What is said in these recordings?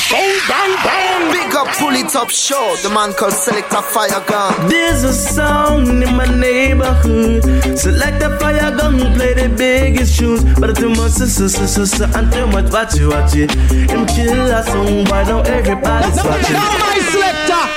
Bang, bang, bang. Big up Fully Top Show, the man called Selector Fire Gun. There's a sound in my neighborhood. Selector Fire Gun play the biggest tunes, but too much and too much watch it. Him kill a song, why now everybody's watching. Now my selector.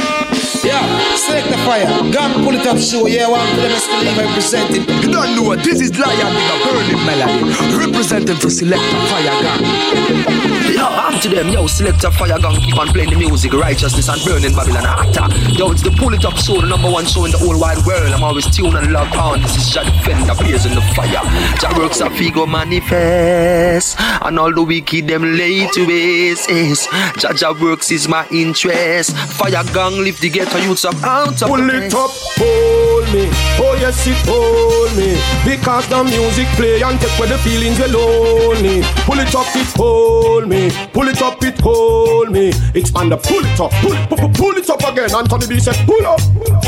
Yeah, Selector Fire Gun, Pull It Up Show. Yeah, one for them is still representing. You don't know what this is. Lion Digger Burning Melody, representing for Selector Fire Gun. Yo, I'm to them, yo, Selector Fire Gun, keep on playing the music, righteousness and burning Babylon hotter. Yo, it's the Pull It Up Show, the number one show in the whole wide world. I'm always tuned and logged on. This is Jah Defender, blaze in the fire. Jah works a figure manifest, and all the wicked them lay to waste. Jah works is my interest. Fire Gun lift the ghetto youths up out of Pull it up, hold me. Oh yes, it hold me. Because the music play and take away the feelings lonely. Pull it up, it hold me. Pull it up, it hold me. It's on the pull it up, pull it up again. Anthony B said pull up.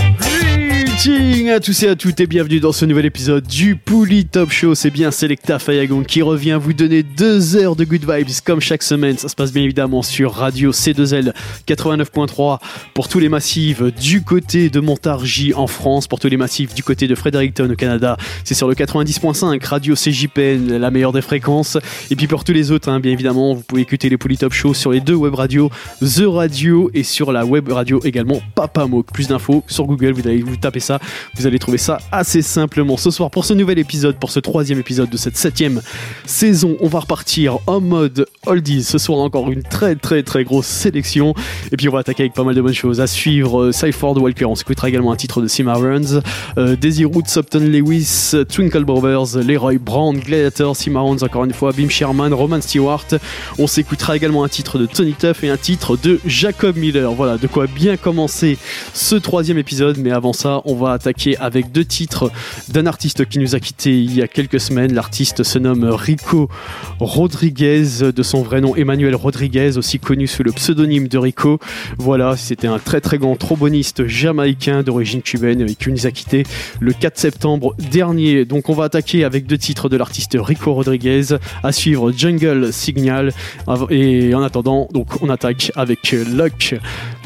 Greetings à tous et à toutes et bienvenue dans ce nouvel épisode du Pull Top Show. C'est bien Selecta Fire Gun qui revient vous donner 2 heures de good vibes comme chaque semaine. Ça se passe bien évidemment sur Radio C2L 89.3 pour tous les massifs du côté de Montargis en France, pour tous les massifs du côté de Fredericton au Canada. C'est sur le 90.5 Radio CJPN, la meilleure des fréquences. Et puis pour tous les autres, bien évidemment, vous pouvez écouter les Pull Top Show sur les 2 web radios, The Radio et sur la web radio également Papa Moke. Plus d'infos sur Google, vous allez vous taper ça, vous allez trouver ça assez simplement. Ce soir, pour ce nouvel épisode, pour ce 3e épisode de cette 7e saison, on va repartir en mode oldies. Ce soir, encore une très très très grosse sélection. Et puis on va attaquer avec pas mal de bonnes choses. À suivre, Cypher de Walker, on s'écoutera également un titre de Cimarrons, Daisy Roots, Upton Lewis, Twinkle Brothers, Leroy Brown, Gladiator, Cimarrons encore une fois, Bim Sherman, Roman Stewart. On s'écoutera également un titre de Tony Tuff et un titre de Jacob Miller. Voilà, de quoi bien commencer ce 3e épisode. Mais avant ça, on va attaquer avec 2 titres d'un artiste qui nous a quittés il y a quelques semaines. L'artiste se nomme Rico Rodriguez, de son vrai nom Emmanuel Rodriguez, aussi connu sous le pseudonyme de Rico. Voilà, c'était un très très grand tromboniste jamaïcain d'origine cubaine qui nous a quittés le 4 septembre dernier. Donc on va attaquer avec 2 titres de l'artiste Rico Rodriguez. À suivre Jungle Signal. Et en attendant, donc on attaque avec Luke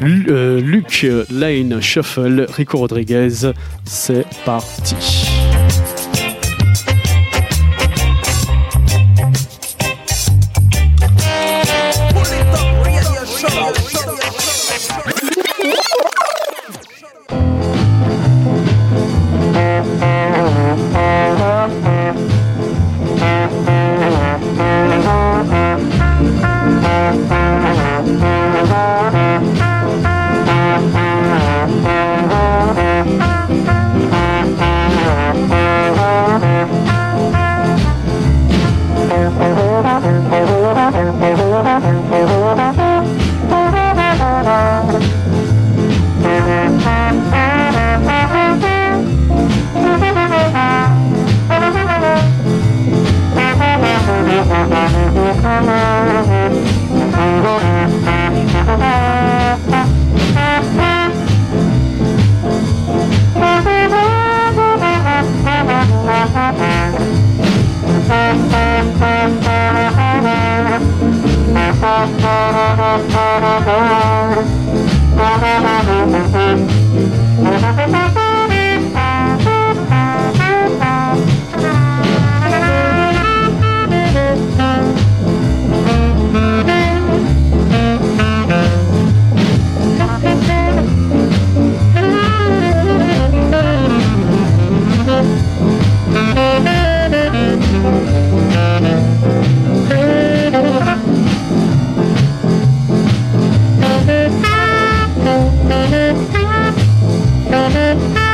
Lane Shuffle, Rico Rodriguez. C'est parti. Thank you.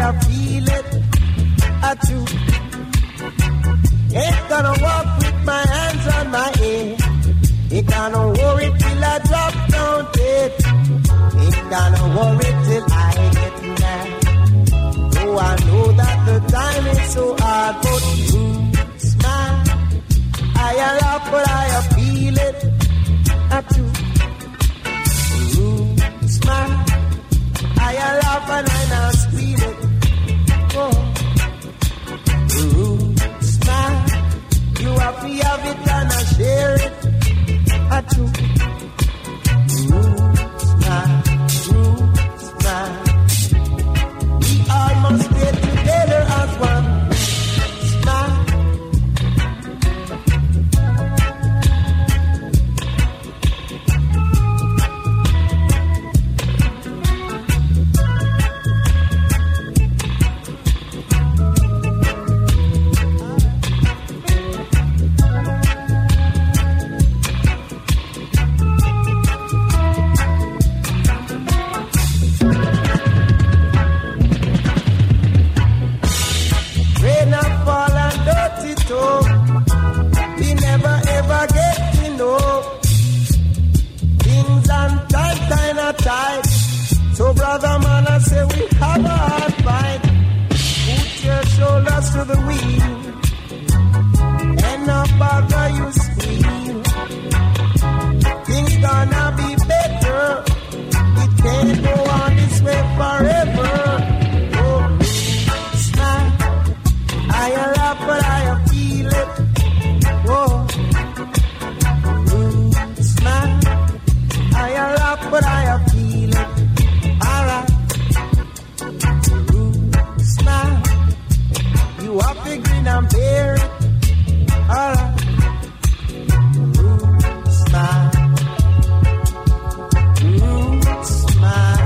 I feel it. I do. Ain't gonna walk with my hands on my head. Ain't gonna worry till I drop down dead. Ain't gonna worry till I get mad. Oh, I know that the time is so hard, but you smile. I laugh, but I feel it. I do. You smile. I laugh and I now feel it. Oh. You smile. You have it and I share it. I do. You smile. You smile. We all must stay together as one. Smile. We never ever get to know things and time kind of tight. So brother man, I say we have a hard fight. Put your shoulders to the wheel and not bother you squeal. Things gonna be better. It can't go on this way forever. Oh, smile. I laugh, but I feel it. Whoa. Smile. I laugh, but I feel it. Alright. Smile. You have to grin and bear it. Alright. Smile. Smile.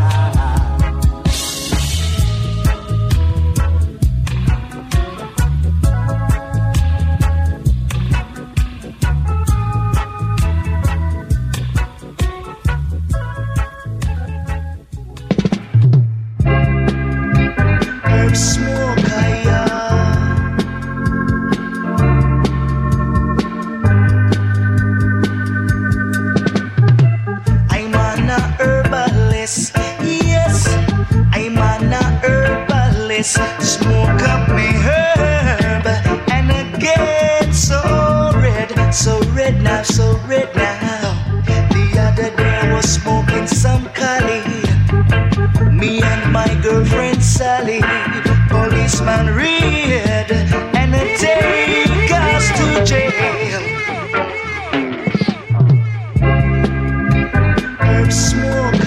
Smoke up me herb and again so red now, so red now. The other day I was smoking some Cali, me and my girlfriend Sally. Policeman read and take us to jail. Herb smoke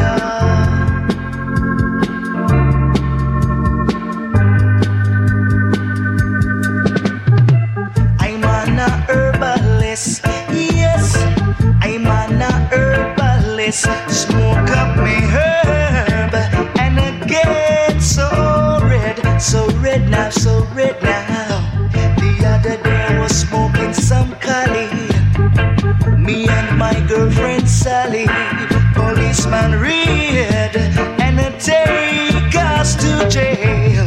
smoke up me herb and again so red now, so red now. The other day I was smoking some Cali, me and my girlfriend Sally. Policeman read and take us to jail.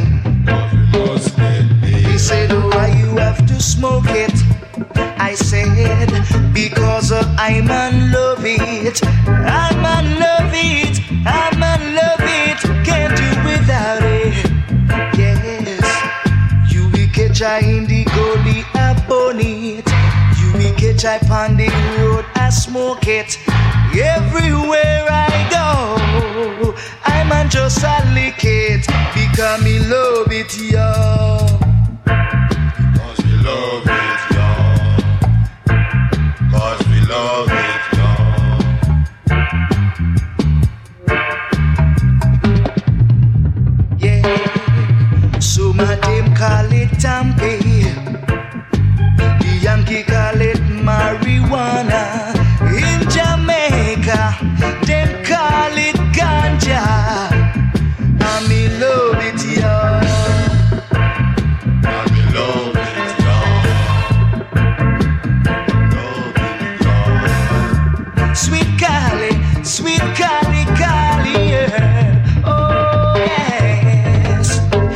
He said, why you have to smoke it? I said, because I'm in love it. I'm in love it. I'm in love it. Can't do without it. Yes, you will catch I in the goldie bonnet. You will catch I on the road. I smoke it everywhere I go. I'm on just a lick it because me love it, y'all. Cause we love it. Love it, yeah. So my them call it Tampe, the Yankee call it marijuana. In Jamaica, them call it ganja. I me love it, y'all. I me love it. Sweet Cali, Cali, yeah. Oh yes.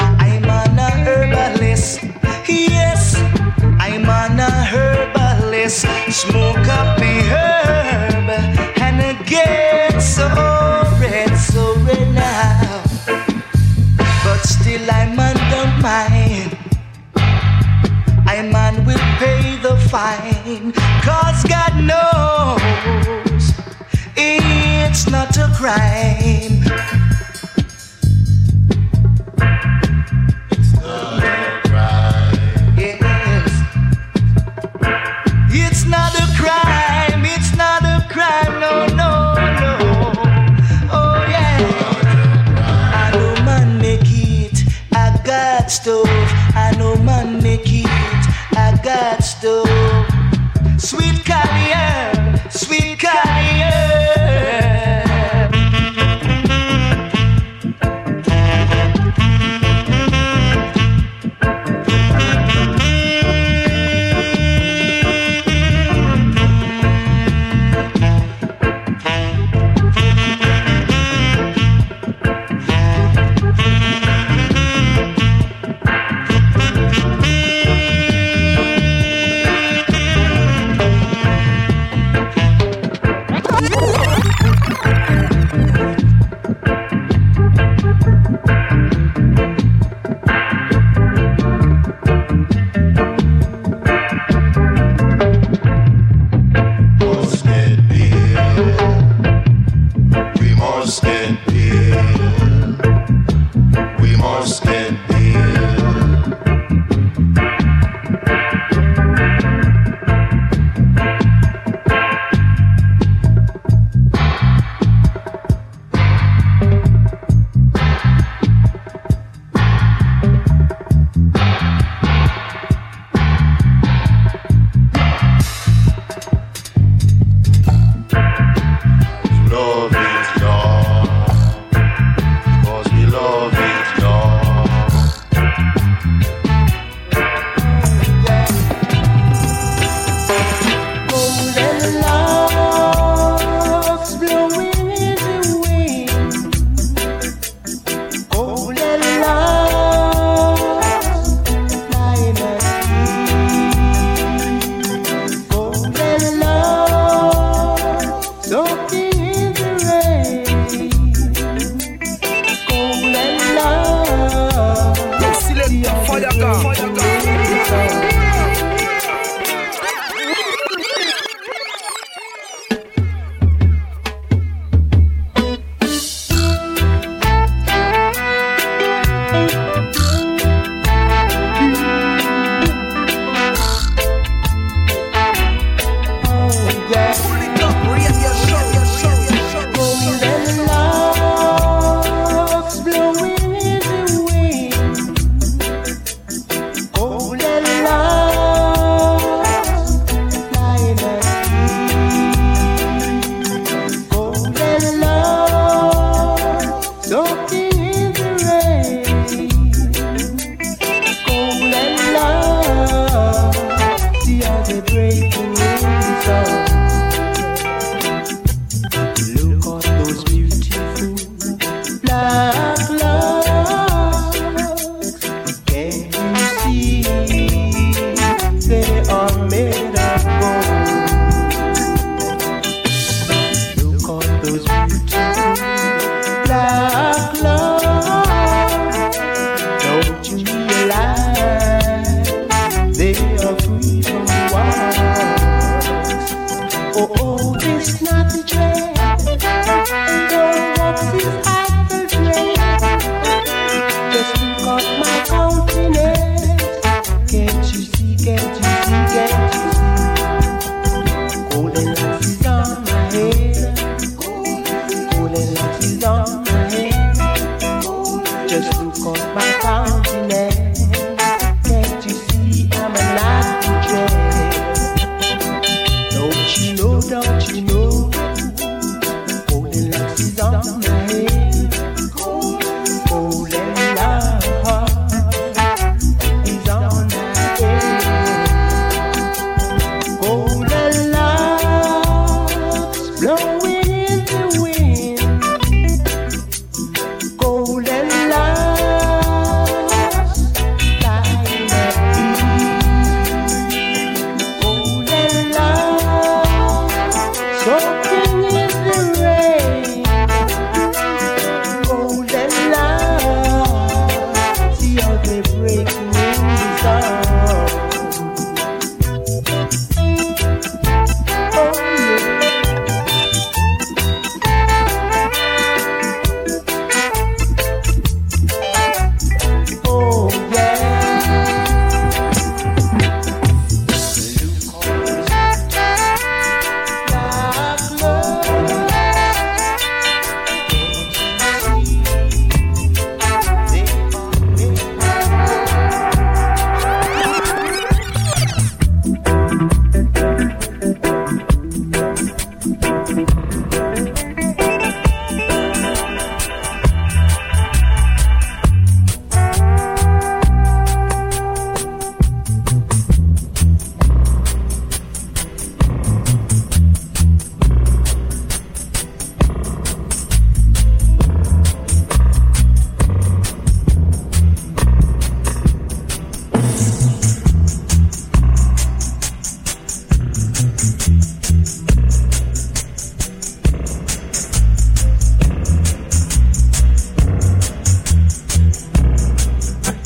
smoke up me herb and it gets so red now. But still I man don't mind. I man will pay the fine, 'cause God knows it's not a crime. It's not a crime. Yes. It's not a crime. It's not a crime. No, no, no. Oh yeah. I know man make it. I got stuff. I know man make it. I got stuff. Sweet Carrier, sweet Carrier.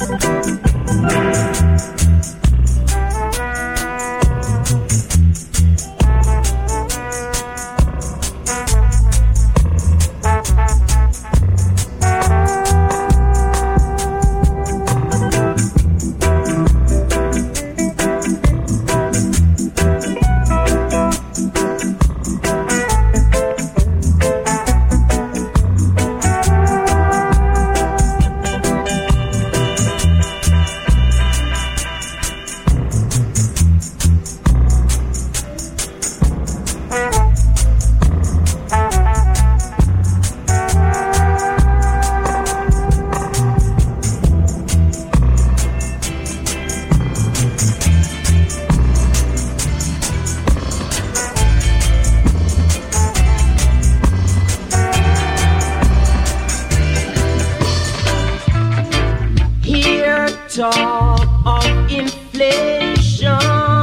talk of inflation,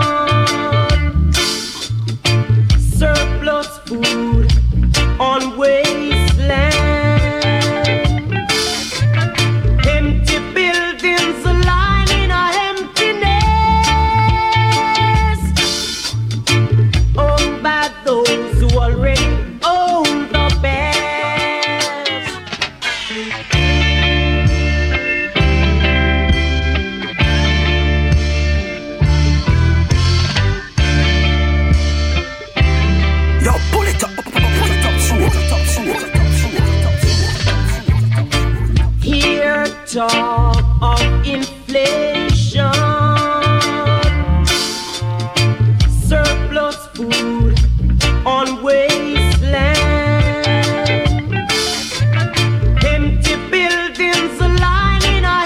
surplus food on wasteland, empty buildings lying in a emptiness, owned by those who already own the best. Here talk of inflation, surplus food on wasteland, empty buildings lying in a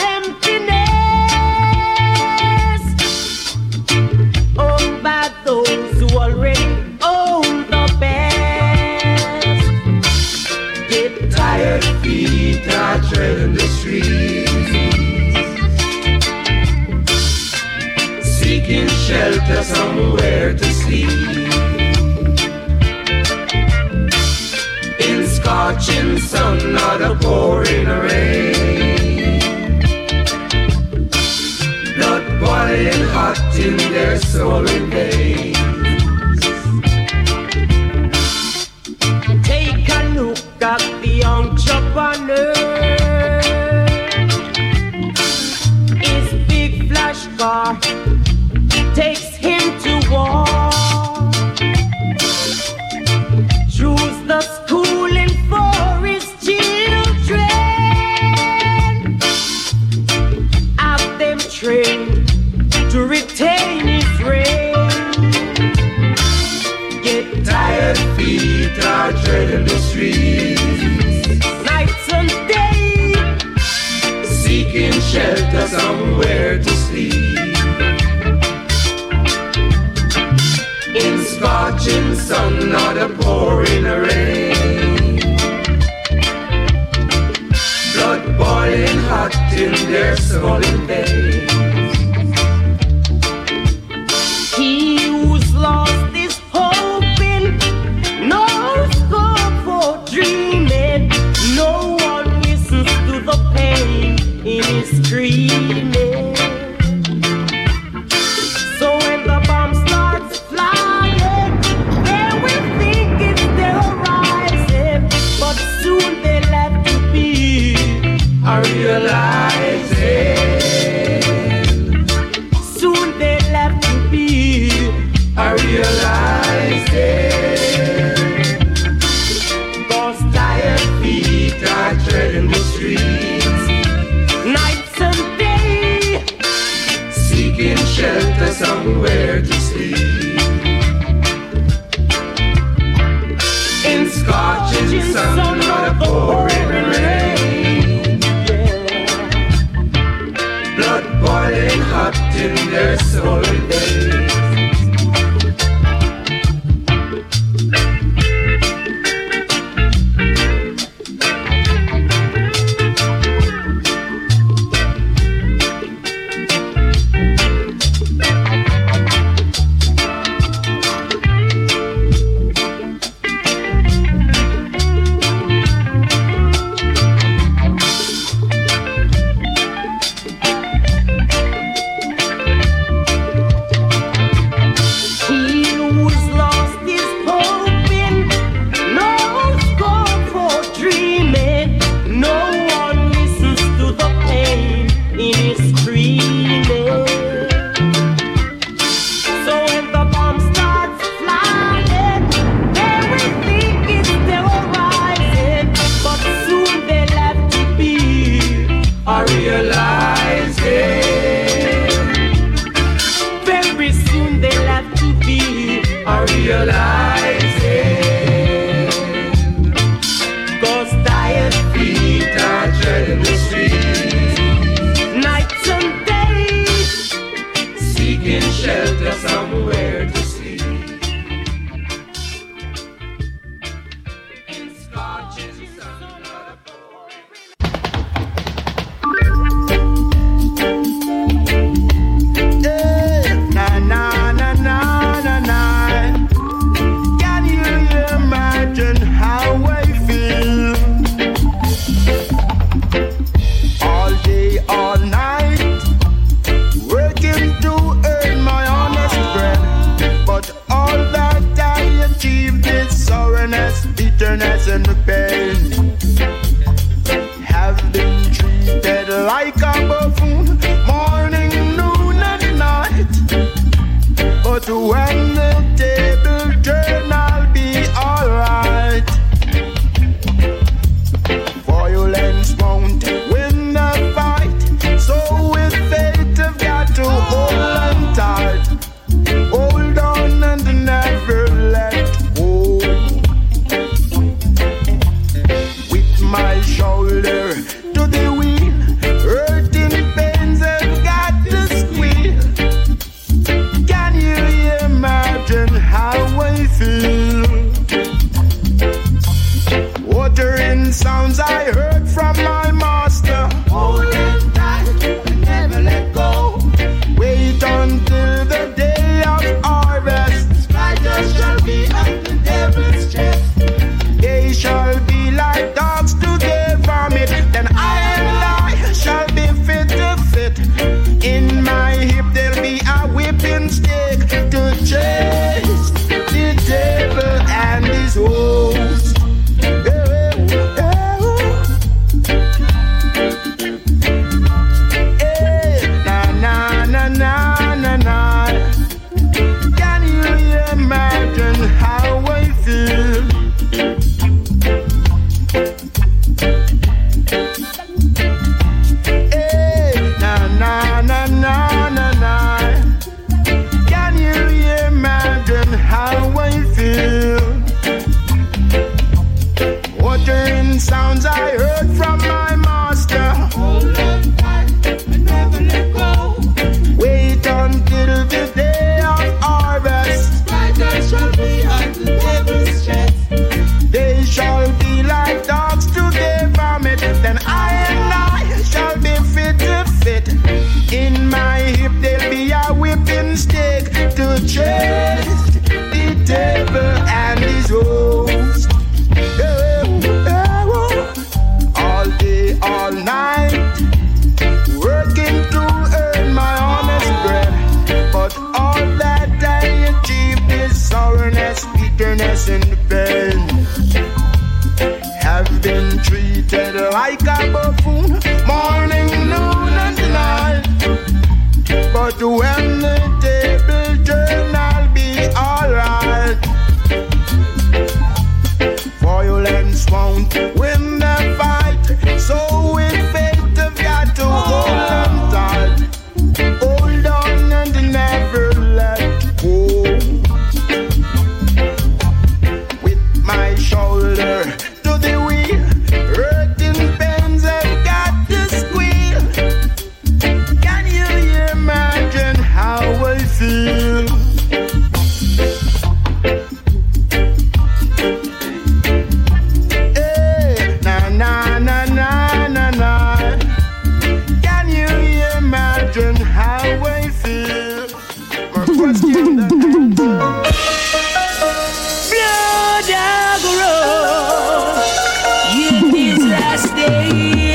emptiness, owned by those who already own the best. Get tired feet are treading the streets, seeking shelter somewhere to sleep. In scorching sun or the pouring rain, blood boiling hot in their swollen veins. Take a look at the entrepreneur. His big flash car takes him to war. Choose the schooling for his children, have them trained to retain his reign. Get tired feet are treading the streets, nights and days, seeking shelter somewhere to sleep. In scorching sun or the pouring rain, blood boiling hot in their swollen veins. He who's lost his hoping, no scope for dreaming. No one listens to the pain in his screaming. So when the bomb starts flying, they will think it's terrorizing, but soon they'll have to be realizing. Soon they'll have to be realizing. 'Cause tired feet are treading the streets, nights and day, seeking shelter somewhere to sleep. In scorching sun or the pouring rain, blood boiling hot in their swollen veins. realizing, 'cause tired feet are treading the street, nights and days, seeking shelter somewhere to sleep. Bitterness and the pain have been treated like a buffoon, morning, noon, and night. But when the table turn, I'll be alright. Violence won't win the fight, so with faith I've got to hold on tight. Hold on and never let go. My shoulder to the wheel, hurting pains have got to squeal. Can you imagine how I feel? Watering sounds I heard from my master. Hold it tight and never let go. Wait until the day of harvest. Spiders shall be at the devil's chest. They shall be like dogs to their vomit. Then I and I shall be fit to fit. In my hip there'll be a whipping stick to chase the devil and his host. Na na na na na na. Can you imagine how I feel? Sounds I heard from my master. Hold on tight and never let go. Wait until the day of harvest. Spiders shall be at the devil's chest. They shall be like dogs to their vomit. Then I and I shall be fit to fit. In my hip there'll be a whipping stick to chase the devil and his host. All night, working to earn my honest bread. But all that I achieved is sourness, bitterness, and pain. Have been treated like a buffoon, morning, noon, and night. But when the table turn, I'll be alright. Violence won't win the fight, so with faith I've got to hold on tight. Hold on and never let go. With my shoulder to the wheel, hurting pains have got to squeal. Can you imagine how I feel? How I feel. My question that Blood road, in this last day.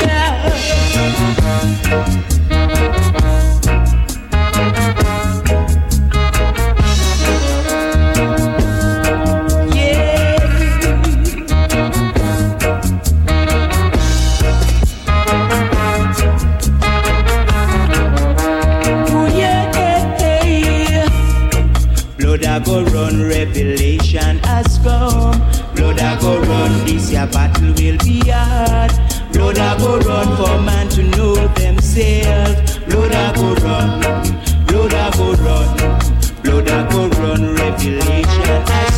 Go run, revelation has come. Blood I go run, this year battle will be hard. Blood I go run for man to know themselves. Blood I go run, blood I go run, blood I go run, revelation has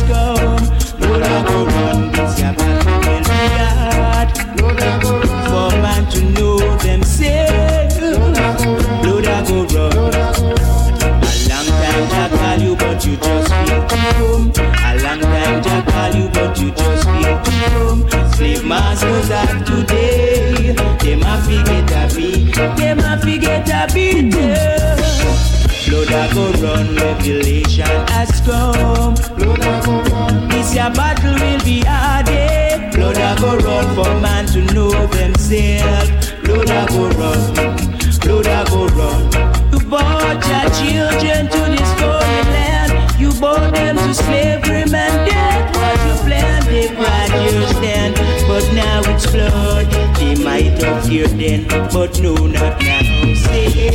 me get a beating. Blood a go run, revelation has come. Blood a go run. This your battle will be hard. Blood a go run for man to know themselves. Blood a go run, blood a go run. You brought your children to this foreign land. You brought them to slavery, man. That was your plan. They cried your stand, but now it's blood. They might have feared then, but no, not now. Say.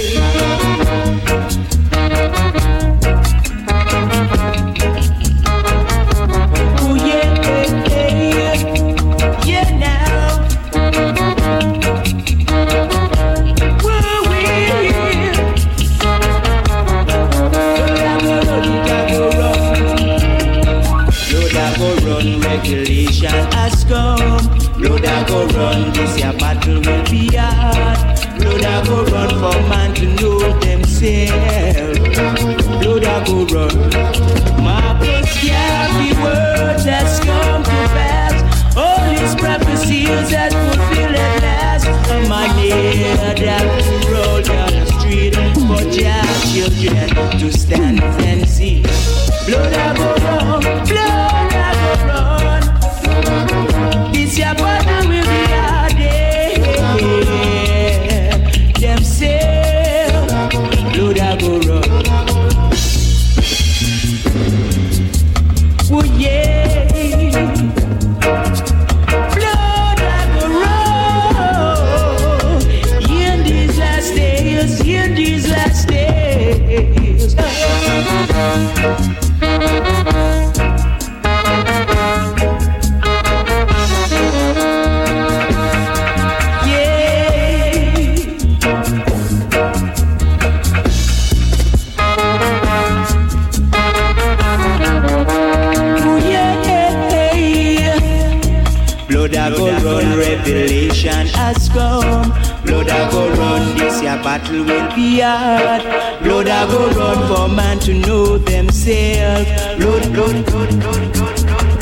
Oh yeah, yeah now. Whoa, run, regulation has come. Blood a go run, this your battle will be hard. Blood a go run for man to know themselves. Blood a go run. Marcus Garvey words has come to pass. All his prophecies that fulfill at last. My name that roll down the street for your children to stand and see. Blood a go run, blood a go run. This your battle will be hard. Themselves, blood a go run. Oh yeah, blood a go run. In these last days, in these last days. Blood a go run, revelation has come. Blood a go run, this your battle will be hard. Blood a go run for man to know themselves. Blood, blood, blood, blood, blood,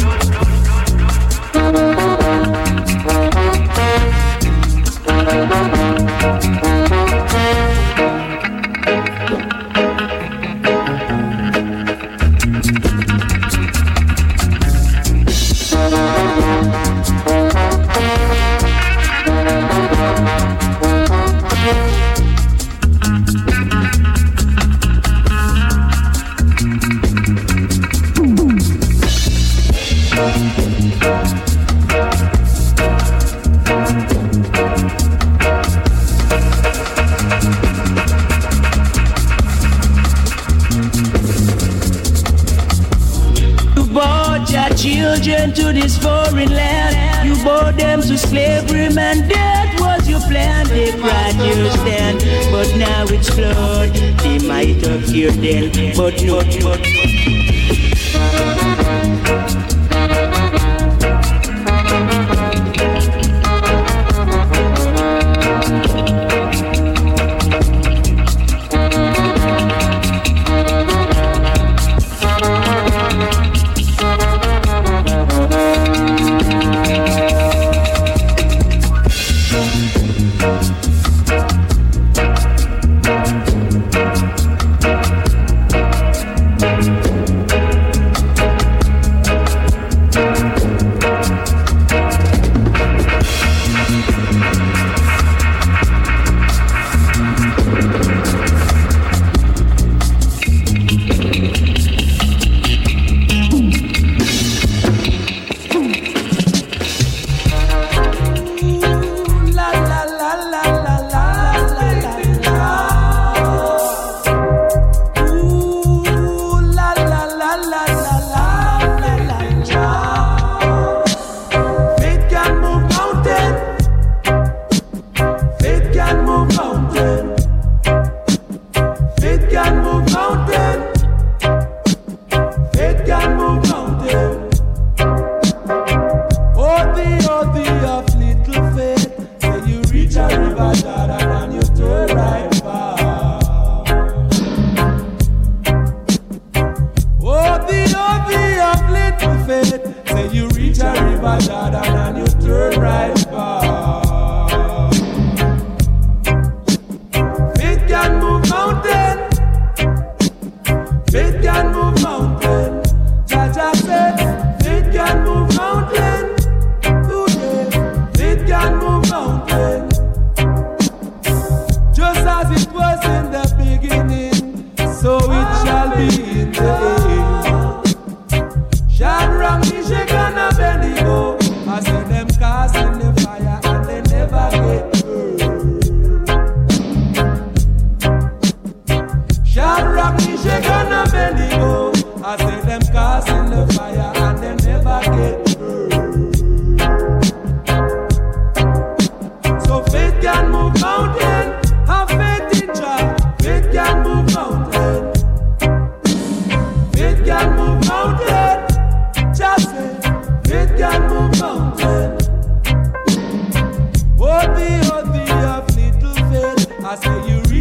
children to this foreign land. You brought them to slavery, man. That was your plan. They cried your stand, but now it's blood. They might have feared then, but no.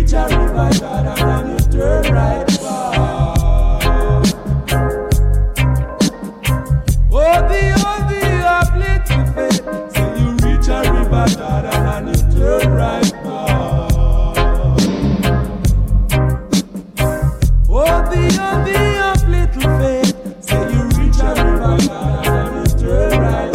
reach a river, Jordan, and you turn right back. Oh, the of little faith. So you reach a river, Jordan, and you turn right back. Oh, the of little faith. So you reach a river, Jordan, and you turn right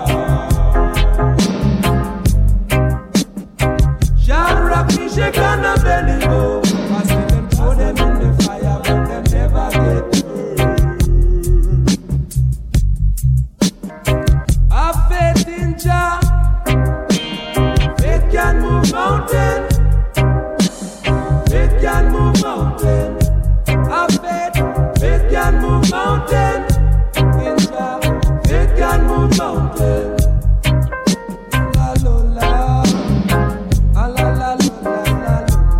back. Shall rock me, shake on the belly, go. I see them throw them in the fire, but them never get burned. Have faith in Jah. Faith can move mountain. Faith can move mountain. Have faith. Faith can move mountain. In Jah. Faith can move mountain. La la la. La la la la la.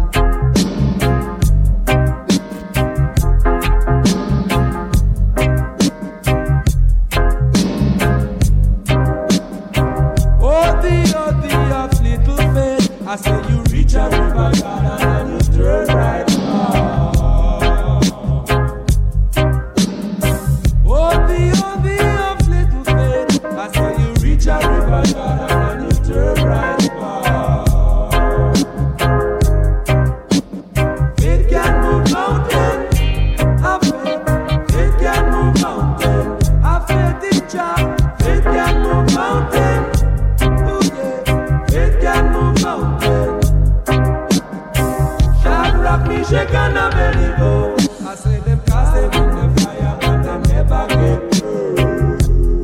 Oh, the of little faith. I say you reach a river, Jordan, and you turn right back. Oh, the of little faith. I say you reach a river, Jordan, and you turn right back. Faith can move mountain. Have faith. Faith can move mountain. Have faith in Jah. Faith can move mountain. Oh yeah. Faith can move mountain. Shall rock me, shake on a belly go. I say them cast them in the fire, but them never get burned.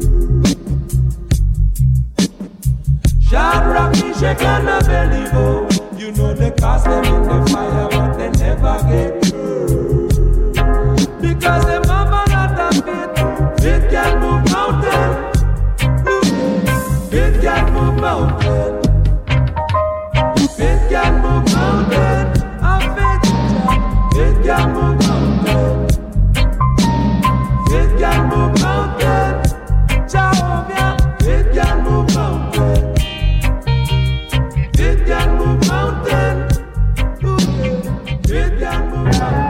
Shall rock me, shake on a belly go. You know they cast them in the fire, but they never get burned. Because them have a lot of faith. Faith can move mountain. Ooh, faith can move mountain. Faith can move mountain. Have faith in Jah. Faith can move mountain. Faith can move mountain. Jehovah. Faith can move mountain. Faith can move mountain. Ooh, yeah. Faith can move mountain.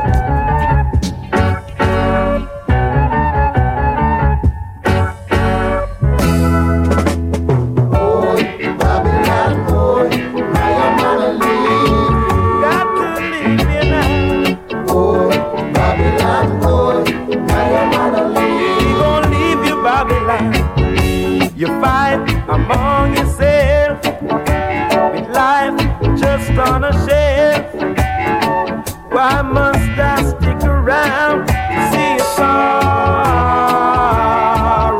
You fight among yourself with life just on a shelf. Why must I stick around to see a sorrow?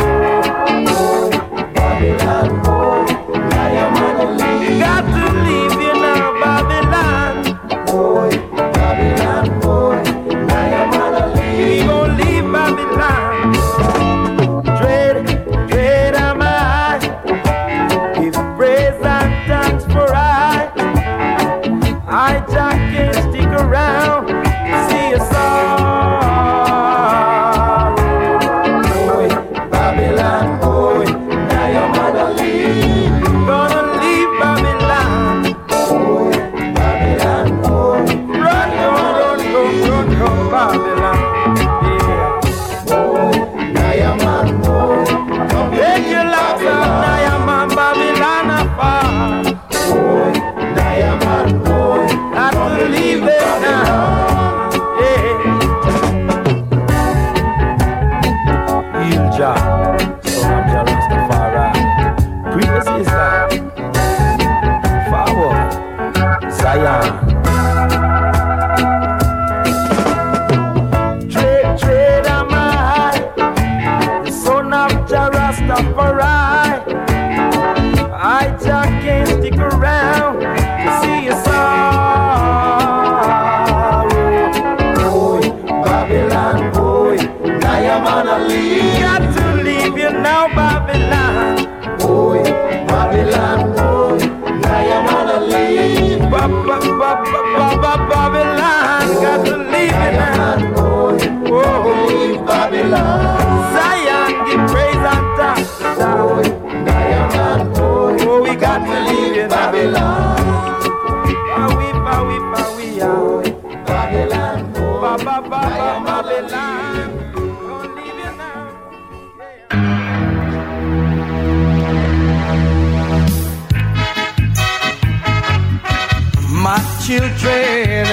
Babylon boy, I am on a leave. Got to leave you now, Babylon. Boy, Babylon boy, I am on a leave. We gon' leave Babylon. Dread am I. Give praise and thanks for I just can't stick around to see a sorrow. Boy, Babylon boy, now your mother leave. Gonna leave Babylon. Boy, Babylon boy, run, Babylon. Yeah. Boy, now your man boy, take your love from now your man Babylon apart. Boy, now your man boy, not to leave them now. Yeah. Heal Jah, son of Jah Rastafari. Praise His Lord. Forward, Zion. Dread am I, the son of Jah Rastafari. I just can't stick around to see a sorrow. Boy, Babylon boy, now your man a leave. Got to leave you now, Babylon. Boy, Babylon boy, now your man a leave. Babylon, got to leave you now. Boy, leave Babylon. Zion, give praise and thanks. Boy, now your man boy, oh, we got to leave you now. Babylon. My children,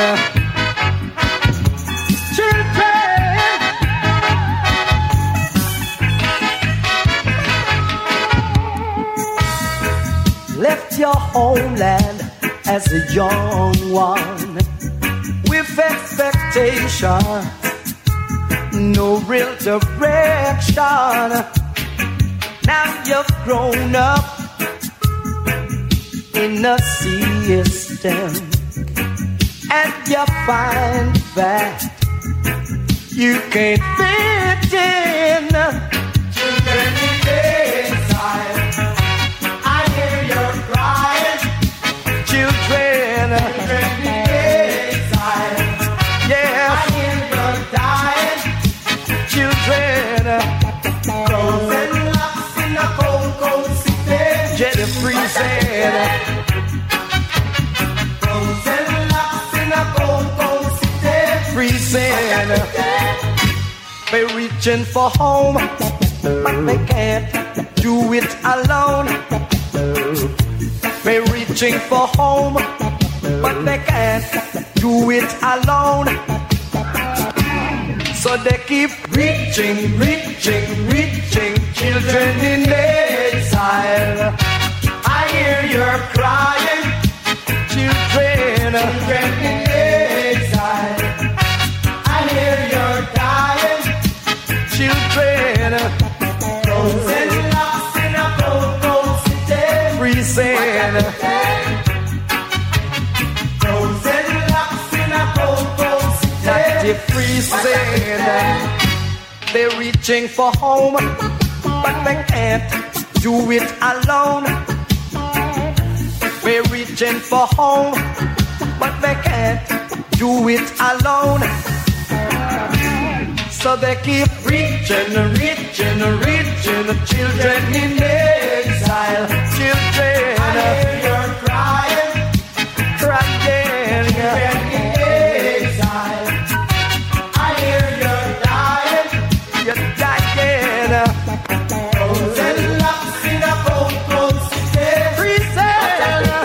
left your homeland as a young one with expectation, no real direction. Now you've grown up in a system, and you find that you can't fit in. Children in exile, I hear you crying. Children in exile, yeah, I hear you dying. Children, frozen locks in a cold, cold city, jelly freezing. Frozen locks in a cold, cold city, freezing. They're reaching for home, but they can't do it alone. They're reaching for home, but they can't do it alone. So they keep reaching, reaching, reaching. Children in exile, I hear you're crying. Children in exile, I hear you're dying. Children, frozen locks in a cold, cold city, freezing. Frozen locks in a cold, cold city, freezing. They're reaching for home, but they can't do it alone. They're reaching for home, but they can't do it alone. So they keep reaching, reaching, reaching. Children in exile, children, I hear you're crying, crying. Children in exile, I hear you're dying, you're dying. Frozen locks in a cold, cold city, freezing.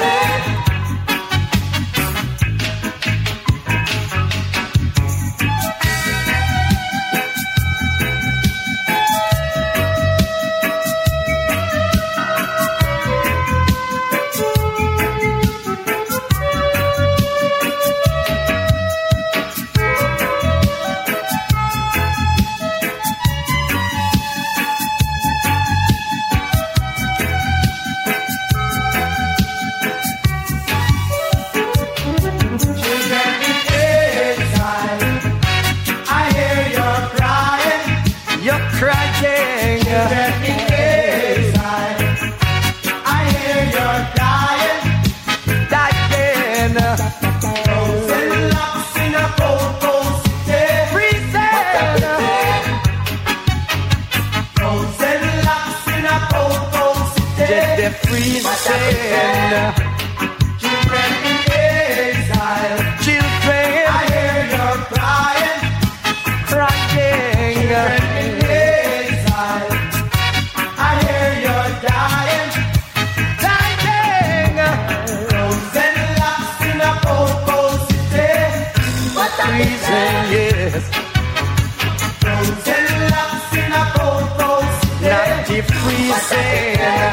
Children in exile, children, I hear you're crying, crying. Children in exile, I hear you're dying, dying. Frozen locks in a cold, cold city, freezing, yes. Frozen locks in a cold, cold city, not deep freezing.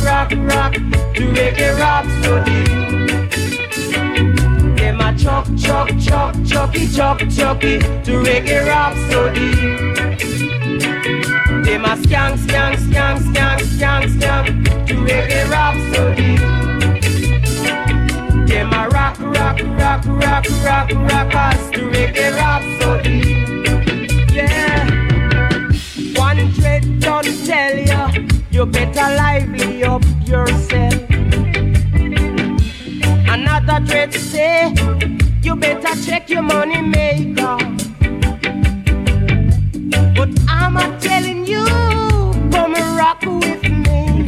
rock, rock to reggae rhapsody. Them a chuck, chuck, chuck, chucky, chuck, chucky to reggae rhapsody. Them a skank, skank, skank, skank, skank, skank to reggae rhapsody. Them a rock, rock, rock, rock, rock, rockers to reggae rhapsody. Yeah. One dread don't tell ya, you better lively up yourself. Another dread say, you better check your money maker. But I'm a telling you, come and rock with me.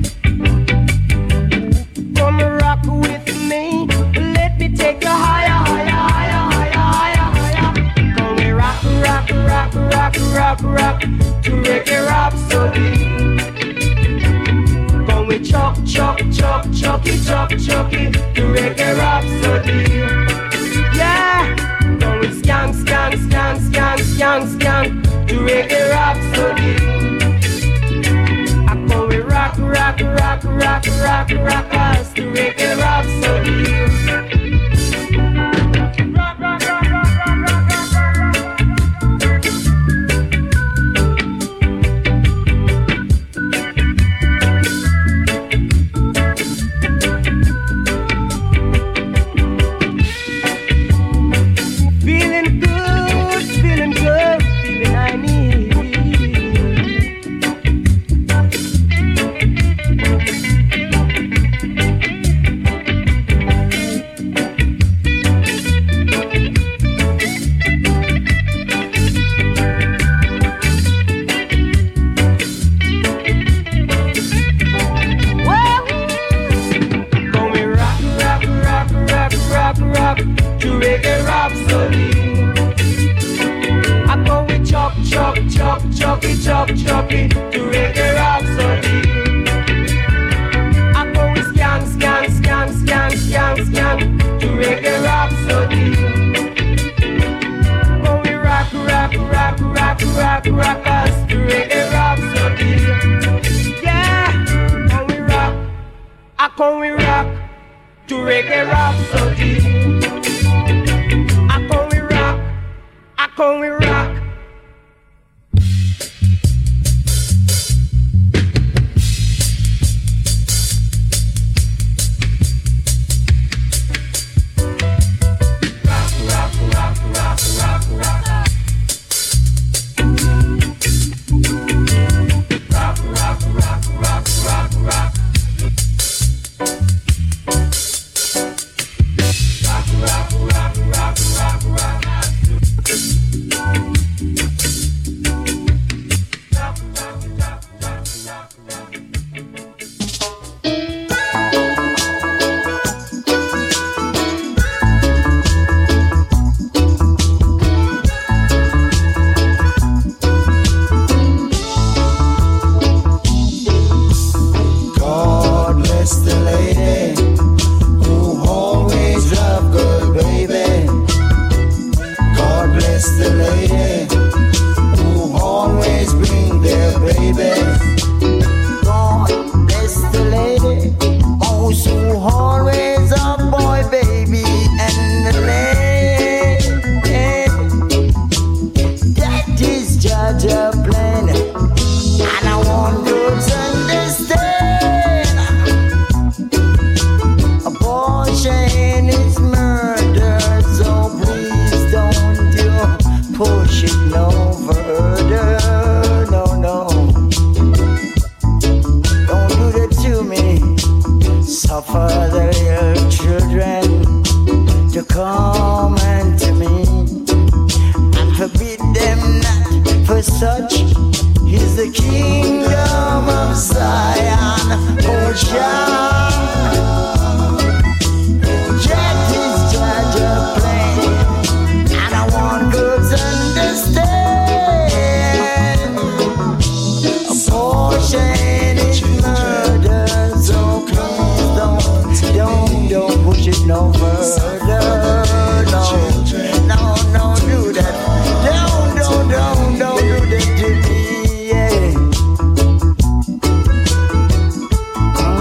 Come and rock with me. Let me take you higher, higher, higher, higher, higher, higher. Come and rock, rock, rock, rock, rock, rock to reggae rhapsody. Come we chuck, chuck, chuck, chucky, chuck, chucky to reggae rhapsody. Yeah. Come we skank, skank, skank, skank, skank, skank to reggae rhapsody. I come we rock, rock, rock, rock, rock, rockers to reggae rhapsody. Rock, rock, rock, rock, rock, rock, rock, feeling good, feeling good, feeling I need. Rock to reggae rhapsody. I go with chop, chop, chop, choppy, chop, choppy to reggae rhapsody. I go with skank, skank, skank, skank, skank, skank to reggae rhapsody. Go with rock, rock, rock, rock, rock, rockers to reggae rhapsody. Yeah, go with rock. I go with rock to reggae rhapsody. I come we rock, I come we rock. Rock, rock, rock, rock, rock, rock. Rock, rock, rock, rock, rock, rock. Rock, rock, rock, rock, rock, rock. God bless the lady who always loved good baby. God bless the lady who always bring their baby. God bless the lady who always a boy baby and the lady. That is Jaja plan, and I want you to understand. Abortion is murder, so please don't you push it no further. No, no. Don't do that to me. Suffer the little children to come unto me and forbid them not, for such is the kingdom of Zion. Oh, Jah. Jack is Jaja plan, and I want girls understand. Abortion is murder, so please don't push it no further. No, no, no, do that. Don't do that to me, yeah.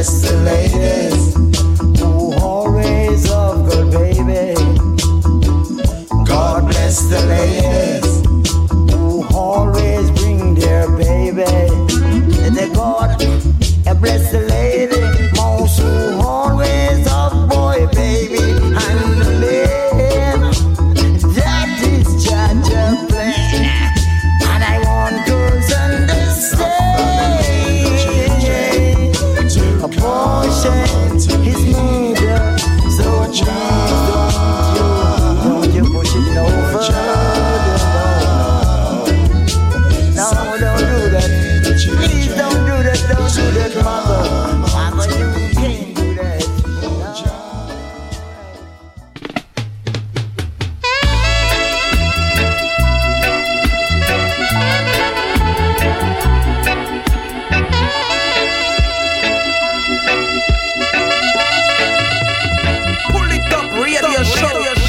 bless the ladies who always love good baby. God bless the ladies who always bring their baby. The God bless the lady most who always love boy baby and the man that is Jaja plan. And I want girls understand abortion is murder. So please don't you push it no further. No, don't do that. Please don't do that. Don't do that, mother. Mother, you can't do that. Pull it up, radio show.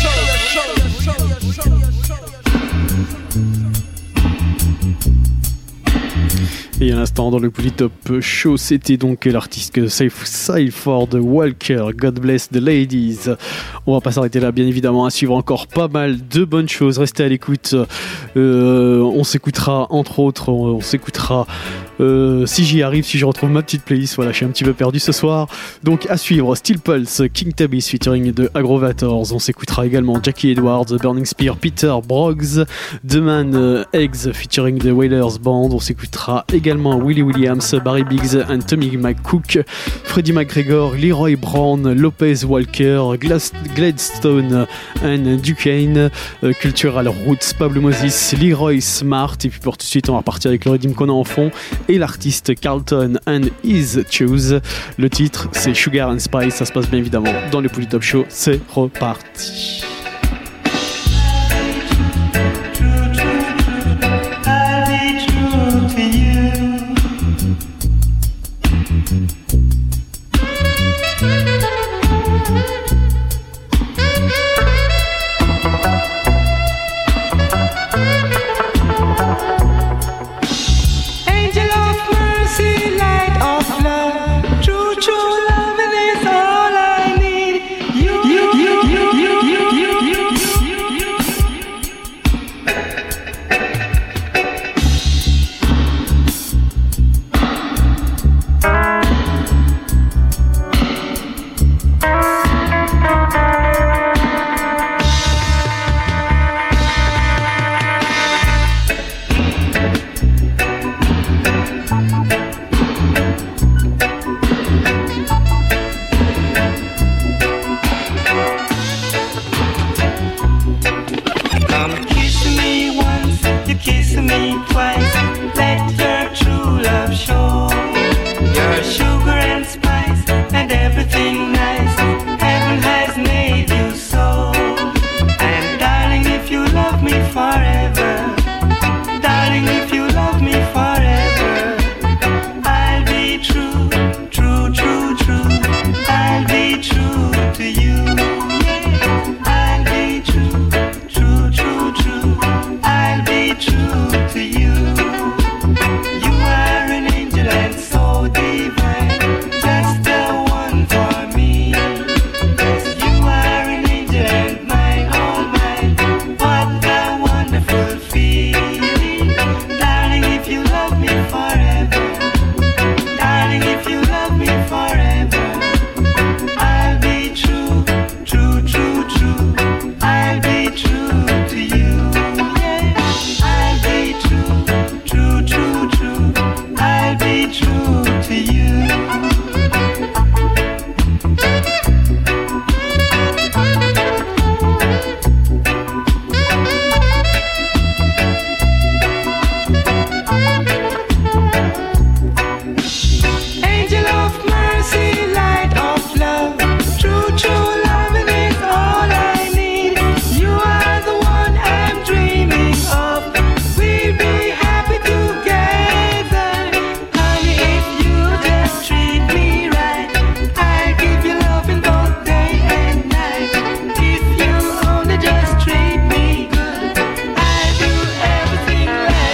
Et à l'instant dans le Polytop Show, c'était donc l'artiste Seiford Walker, God Bless the Ladies. On va pas s'arrêter là, bien évidemment, à suivre encore pas mal de bonnes choses. Restez à l'écoute. On s'écoutera, entre autres, on s'écoutera si j'y arrive, si je retrouve ma petite playlist. Voilà, je suis un petit peu perdu ce soir. Donc à suivre, Steel Pulse, King Tabis featuring de Agrovators. On s'écoutera également Jackie Edwards, Burning Spear, Peter Broggs, The Man Eggs featuring the Wailers Band. On s'écoutera également Willie Williams, Barry Biggs and Tommy McCook, Freddie McGregor, Leroy Brown, Lopez Walker, Gladstone and Duquesne, Cultural Roots, Pablo Moses, Leroy Smart. Et puis pour tout de suite, on va repartir avec le rythme qu'on a en fond et l'artiste Carlton and His Choose. Le titre, c'est Sugar and Spice. Ça se passe bien évidemment dans le Polytop Show. C'est reparti.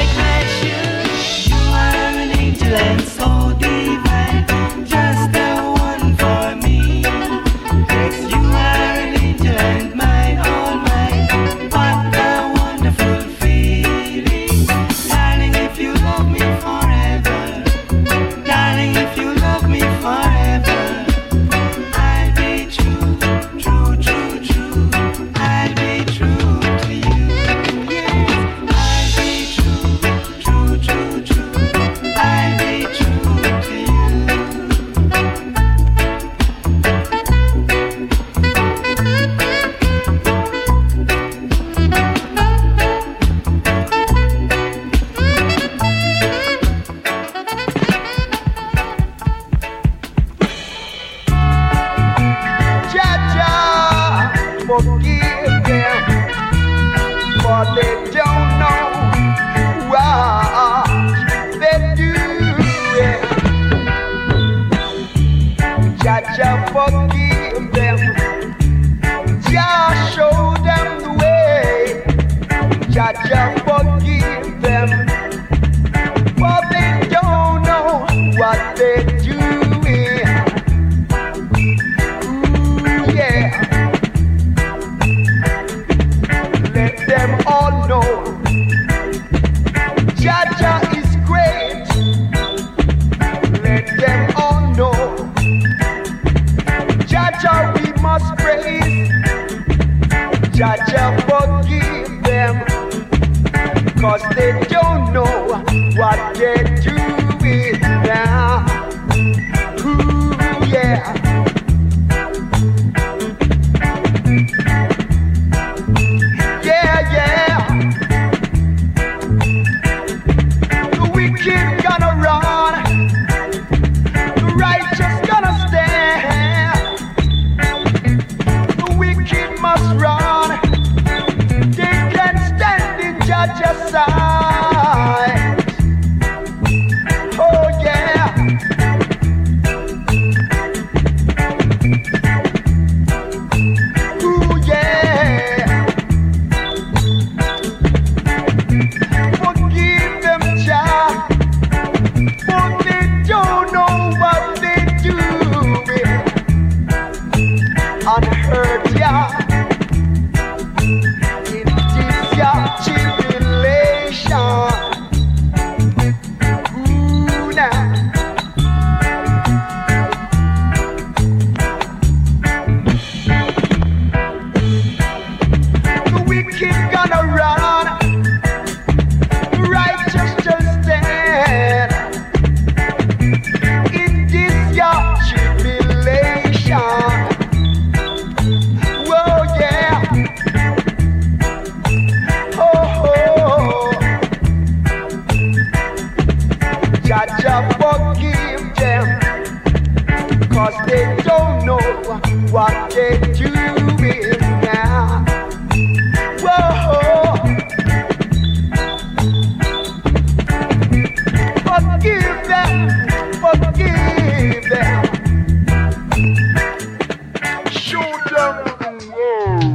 So divine, just the forgive them. Jah show them the way. Jah forgive them. For they don't know what they're doing. Ooh, yeah. Let them all know Jah is great. Let them all know Jah we must praise. Jah forgive them, 'cause they don't know what they're doing now. Ooh, yeah. Yeah, yeah. The wicked gonna run, the righteous gonna stand. The wicked must run, they can stand in Judge's side. Oh yeah. Ooh yeah. Forgive them, Jah, for they don't know what they're doing. Unheard, yeah. In this your tribulation. Ooh, now. The wicked gonna run, the righteous just stand. In this your tribulation. Whoa, yeah. Oh, oh. Jah forgive them, 'cause they don't know what they're doing now. Whoa. Forgive them, forgive them. Show them the world.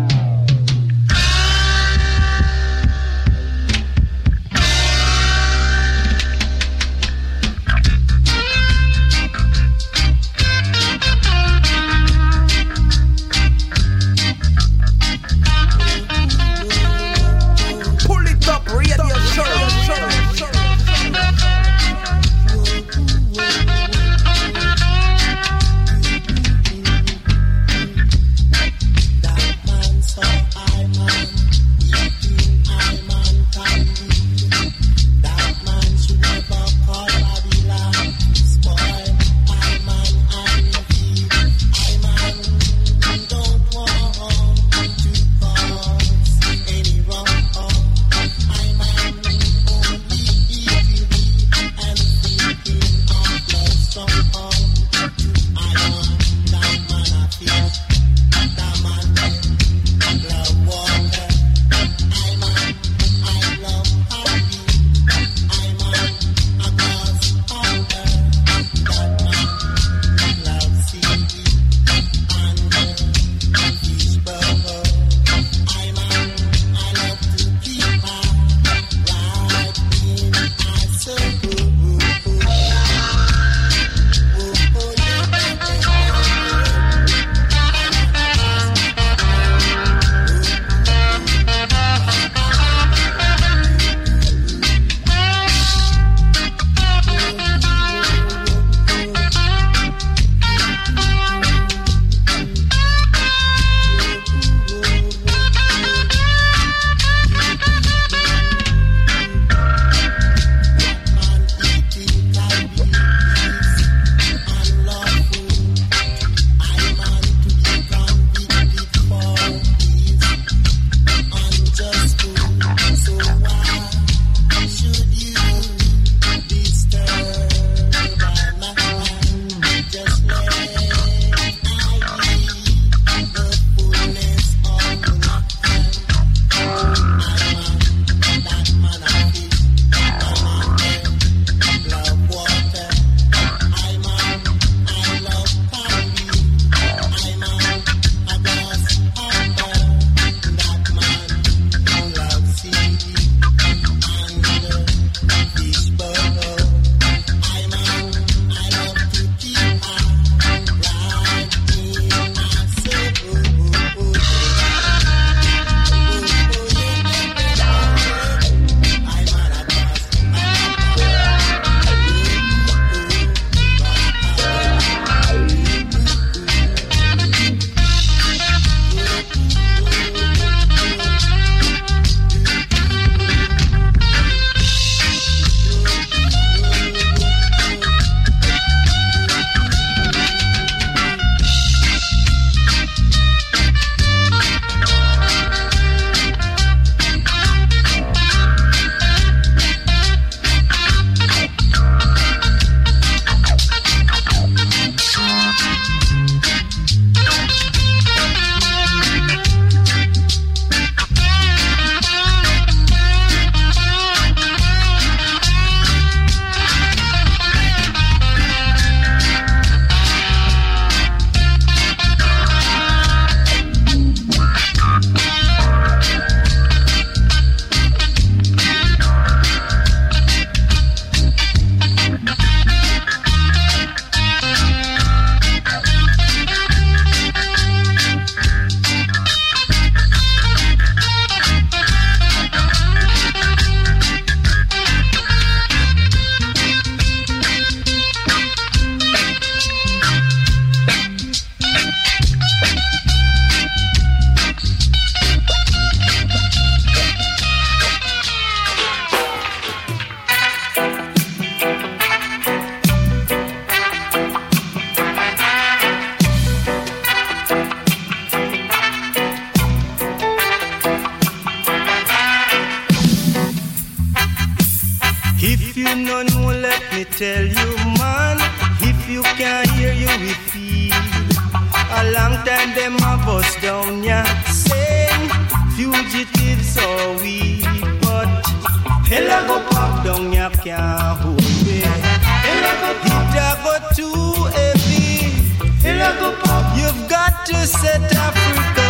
me tell you, man, if you can't hear, you will feel. A long time them a bust down ya, saying fugitives are we, but hell a go pop down ya can't hold me. Hell a go pop, it a go too heavy. Hell a go pop, you've got to set Africa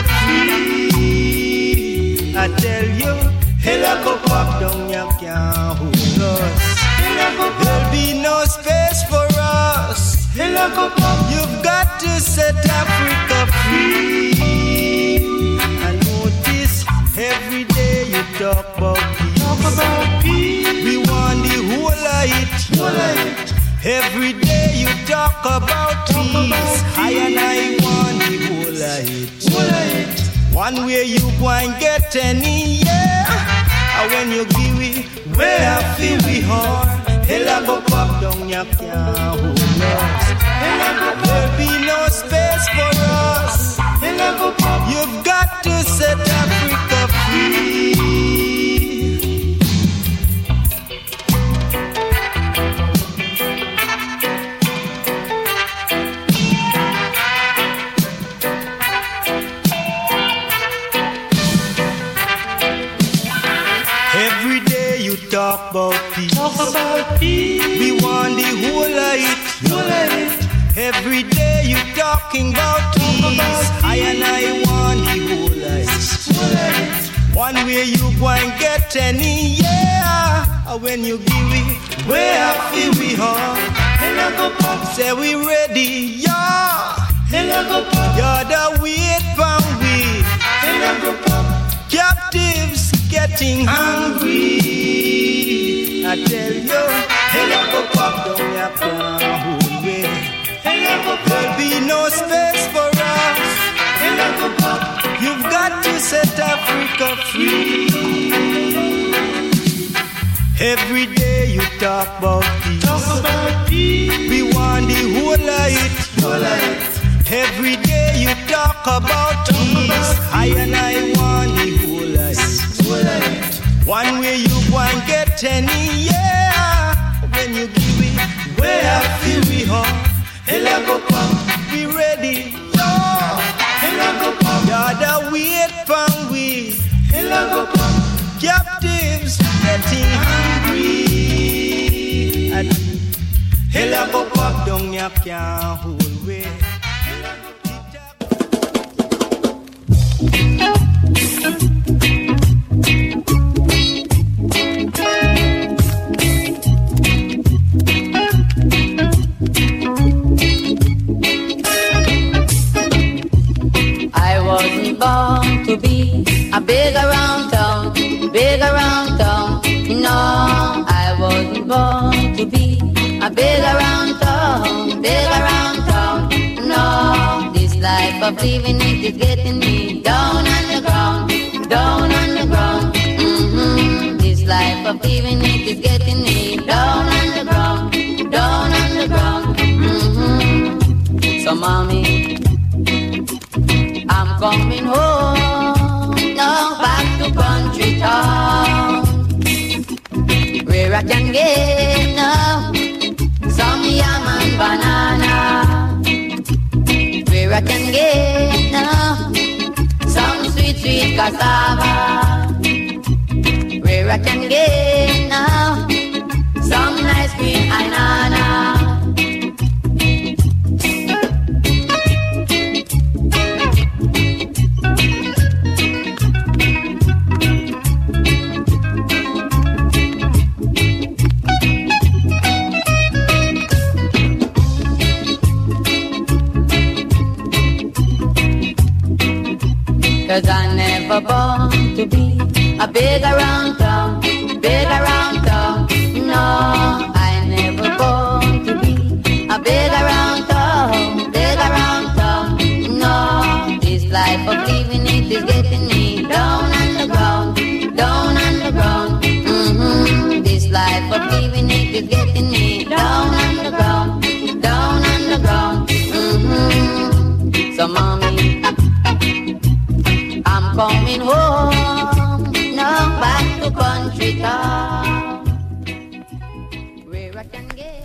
free. I tell you, hell a go pop down ya can't hold us. There'll be no space for us. You've got to set Africa free. And notice every day you talk about peace. We want the whole of it. Every day you talk about peace. I and I want the whole of it. One way you go and get any, yeah. And when you give it, where I feel we are. Hell a go pop down ya can't hold us. There'll be no space for us. You've got to set Africa free. Every day you talk about peace. We want the whole of it. Every day you talking about peace. I and I want the whole of it. One way you go and get any, yeah. When you give it, where I feel we are. Say we ready, yeah. You're the wait for we. Captives getting hungry. I tell you, pop down your can't way. There'll be no space for us. You've got to set Africa free. Every day you talk about peace. We want the whole of it. Every day you talk about peace. I and I want the whole of it. One way you go and get any, yeah. When you give it, where I feel we are. Be ready, yeah. You're the wait for we. Captives getting hungry. Hell go pop down ya can't hold way. I wasn't born to be a big around town. No, I wasn't born to be a big around town. No, this life of living it is getting me down on the ground. This life of living it is getting me down on the ground. So mommy, I'm coming home now, back to country town, where I can get now some yam and banana, where I can get now some sweet cassava, where I can get now some nice green banana. Cause I never born to be a big around town. No, I never born to be a big around town. No, this life of living it is getting me down on the ground. This life of living it is getting me down on the ground. So mommy, I'm coming home now, back to country town, where I can get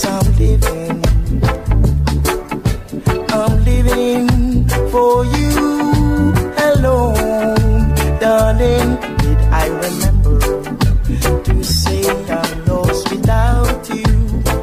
I'm living for you alone, darling. Did I remember to say I'm lost without you?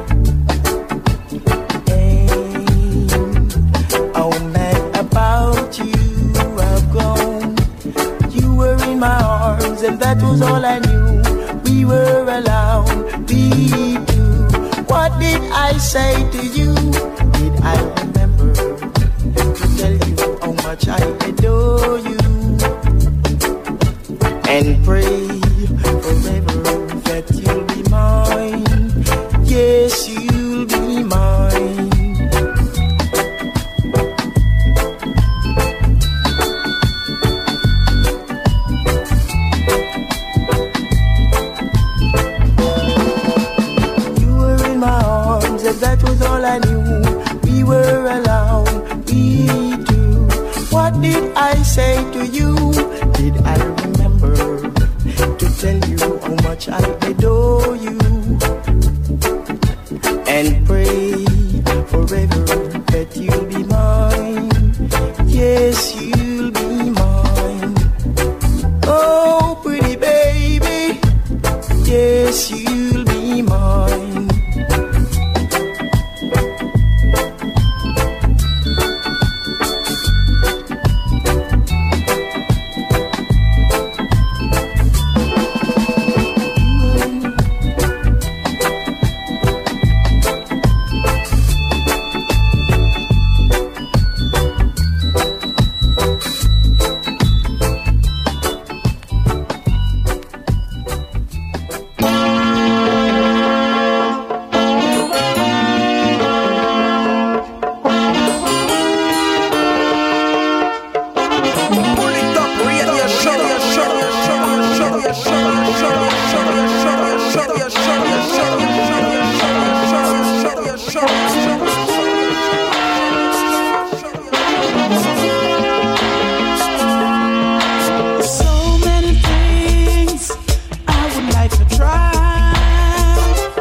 And how mad about you I've grown. You were in my arms and that was all I knew. We were alone, we two. What did I say to you? Did I remember to tell you how much I adore you? And pray forever that you'll be mine. Yes, you'll be mine. You were in my arms and that was all I knew. We were alone, we two. What did I say to you? Did I remember to tell you how much I adore you? And pray forever that you'll be mine. Yes, you'll be mine. Oh, pretty baby. Yes, you'll be mine. So many things I would like to try.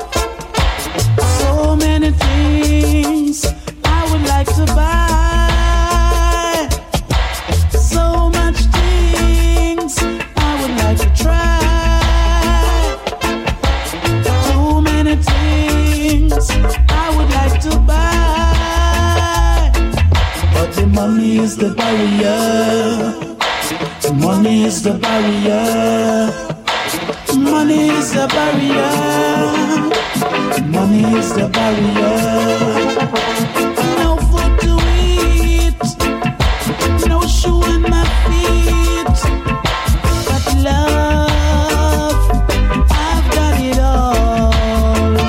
So many things I would like to buy. So much things I would like to try. Too many things I would like to buy. But the money is the barrier. Money is the barrier. Money is the barrier. Money is the barrier. No food to eat, no shoe on my feet. But love, I've got it all.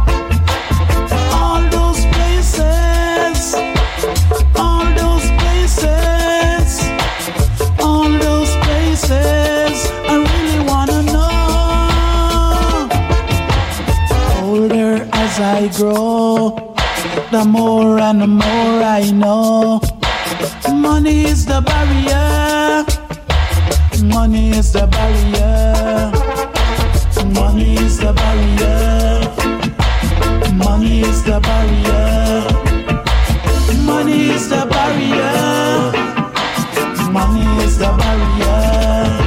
All those places, all those places. All those places I really wanna know. Older as I grow, the more and the more I know. Money is the barrier. Money is the barrier. Money is the barrier. Money is the barrier. Money is the barrier. Money is the barrier.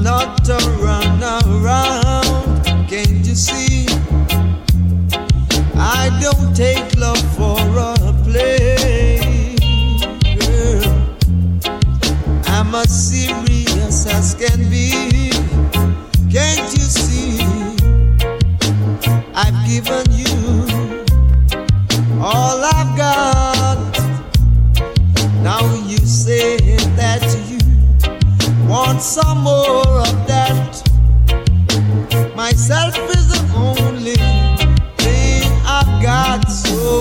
not to run around. Can't you see? I don't take love for a play, girl. I'm as serious as can be. Can't you see? I've given you all I've got. Now you say that you want some more of that. Myself is the only thing I've got. So,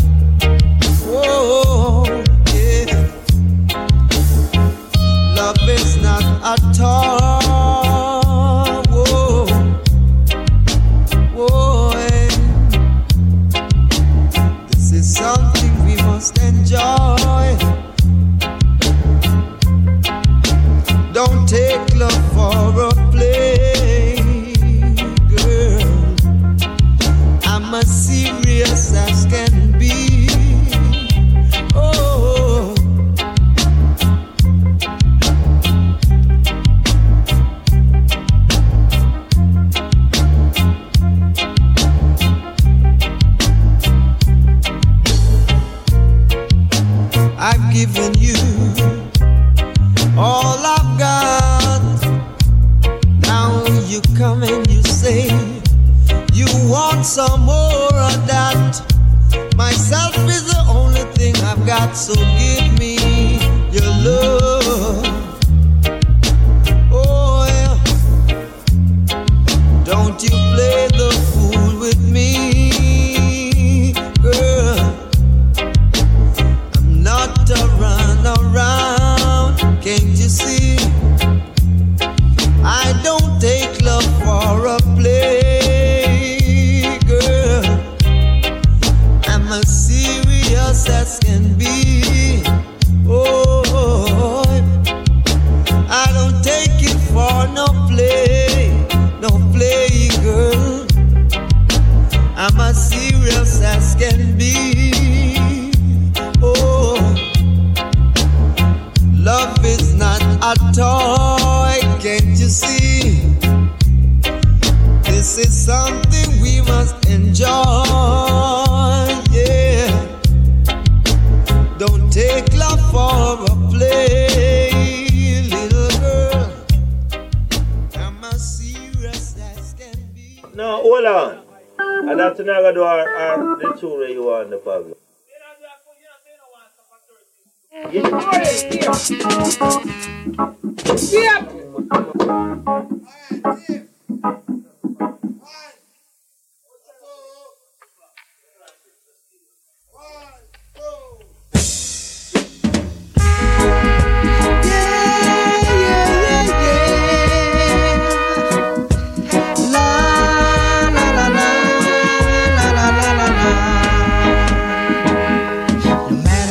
oh, yeah. Love is not a toy. Whoa, whoa, yeah. This is something we must enjoy. Don't take love for a play, girl. I'm as serious as can be. Oh, I've given you all I've got. Now you come and you say you want some more of that. Myself is the only thing I've got, so give me your love. Oh yeah. Don't you play the fool with me, girl. I'm not to run around. Can't you see? I don't take love for a play, girl. I'm as serious as can be. Oh, I don't take it for no play, girl. I'm as serious as can be. Oh, love is not a toy, can't you see? This is something we must enjoy, yeah. Don't take love for a play, little girl. I'm as serious as can be. No, hold on. And that's another door the tune that you want the problem. Yep.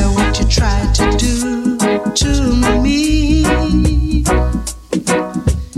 To me,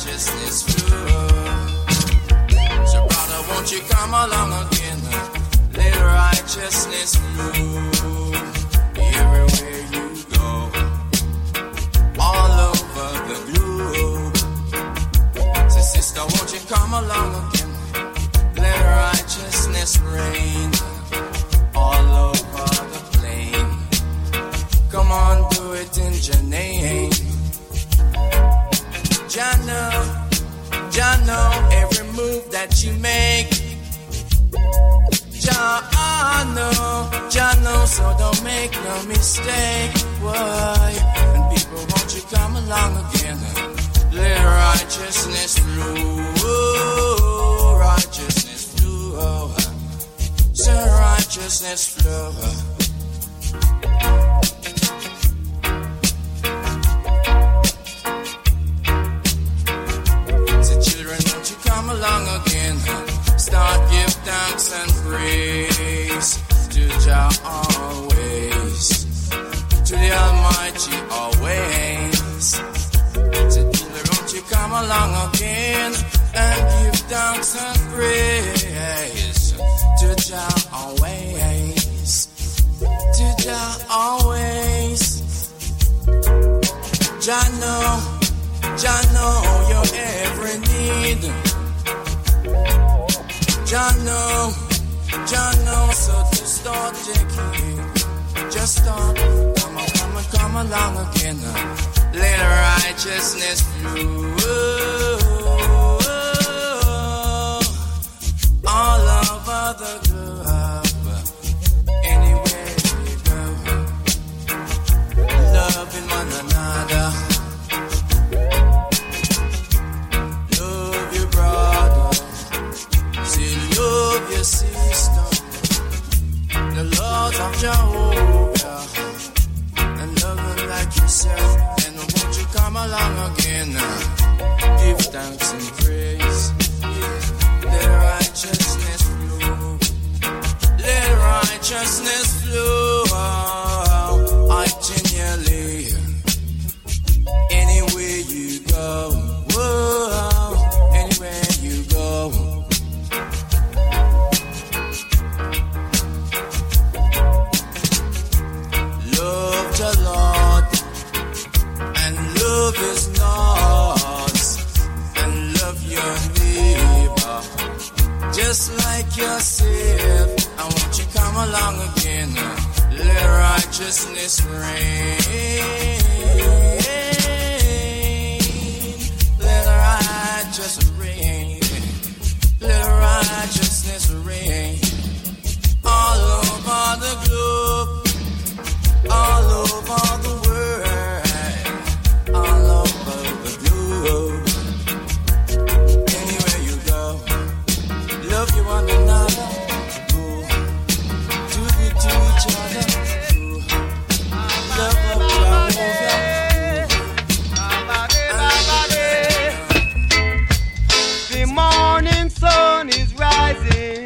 righteousness flow. So brother, won't you come along again? Let righteousness flow everywhere you go, all over the globe. So sister, won't you come along again? Let righteousness reign all over the plain. Come on, do it in your name. Jah know every move that you make. Jah know, so don't make no mistake. Why? And people, won't you come along again? Let righteousness flow, righteousness flow, so righteousness flow. Come along again, start give thanks and praise to Jah always, to the Almighty always. So won't you come along again and give thanks and praise to Jah always, to Jah always. Jah know your every need. Jah know, so just start taking, just start, come along again. Let righteousness flow all over the globe, anywhere you go, loving one another. Love your sister, the Lord of Jehovah, and love her like yourself. And won't you come along again? Give thanks and praise. Let righteousness flow. Let righteousness flow. Continually, anywhere you go. Whoa, anywhere you go. Love the Lord, and love His laws, and love your neighbor, just like yourself. And won't you come along again? Let righteousness reign. Let righteousness reign. Let righteousness reign all over the globe, all over the world, all over the globe. Anywhere you go, love you one another. Do good to each other. Love of Jehovah. The morning sun is rising,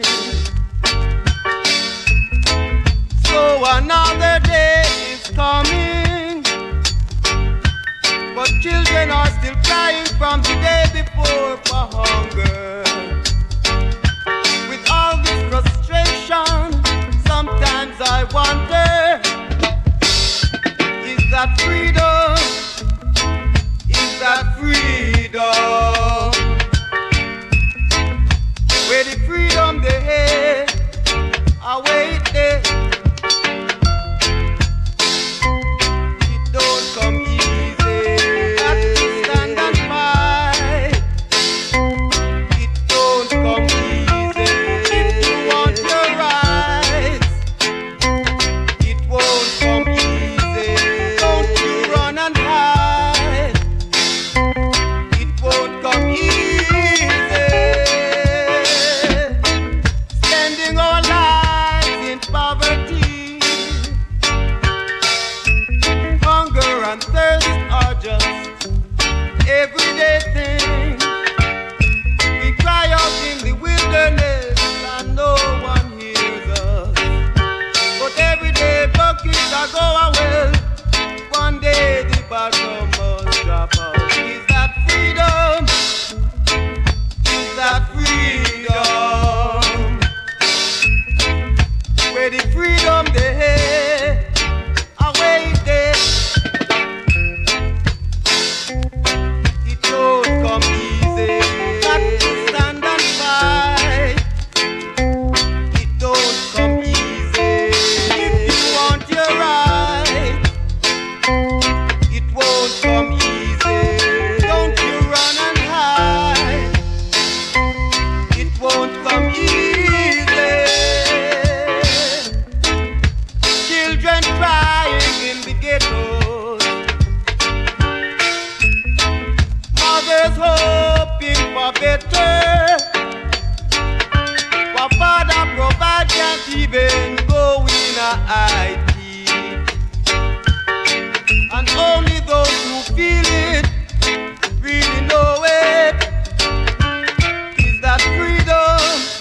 so another day is coming, but children are still crying from the day before for hunger. With all this frustration, sometimes I wonder, is that freedom? Is that freedom? Where the freedom they had, I wait there. It don't come easy. Got to stand and fight. It don't come easy. If you want your rights, it won't come easy. Don't you run and hide. better. What Father provide can't even go in a IT. And only those who feel it really know it. Is that freedom?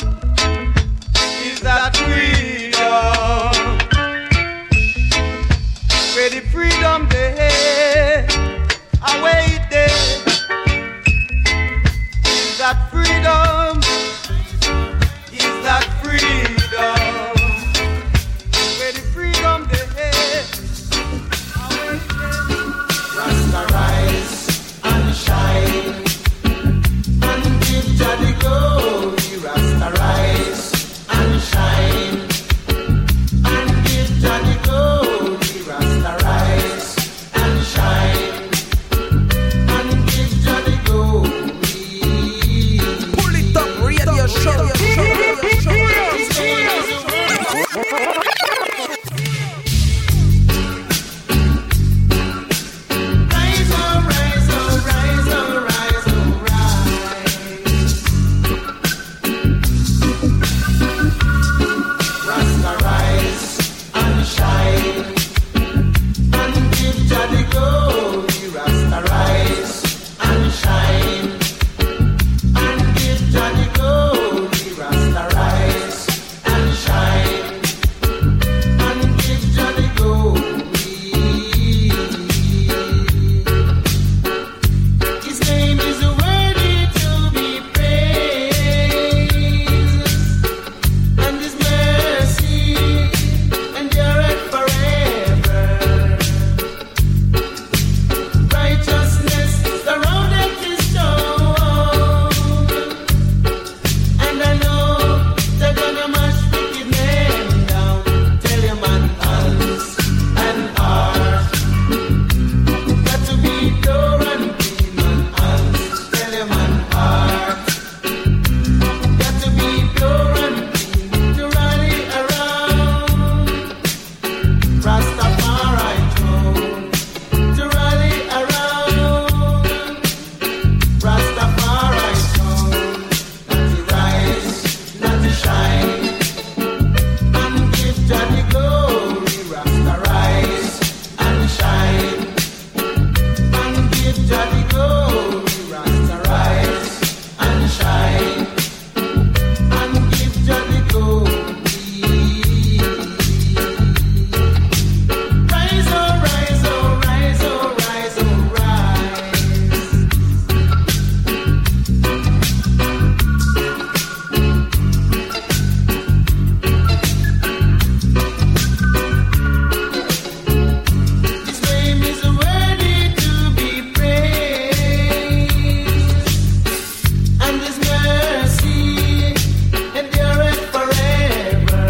Is that freedom? Where the freedom there, away there. Is that freedom? Is that freedom? Where the freedom there, away there. Rasta rise and shine and give Jah the glory. Rasta rise and shine and give Jah the glory. Rasta rise and shine and give Jah the glory. Pull it up, radio show. Rise, oh, rise, oh, rise, oh, rise, oh, rise. Rasta rise and shine and give Jah the glory. Rasta rise and shine and give Jah the glory. Rasta rise and shine and give Jah the glory. His name is worthy to be praised, and His mercy endureth forever. Righteousness surroundeth His throne, and I know they're gonna mash wicked men down. Tell your man hands and heart got to be pure and clean, man hands. Tell your man heart got to be pure and clean to rally around Rastafari throne, to rally around Rastafari throne, not to rise, not to shine, and give Jah the glory. Rasta rise and shine and give Jah the glory. Rasta rise and shine and give Jah the glory. Rise, oh, rise, oh, rise, oh, rise, oh, rise. His name is worthy to be praised, and His mercy endureth forever.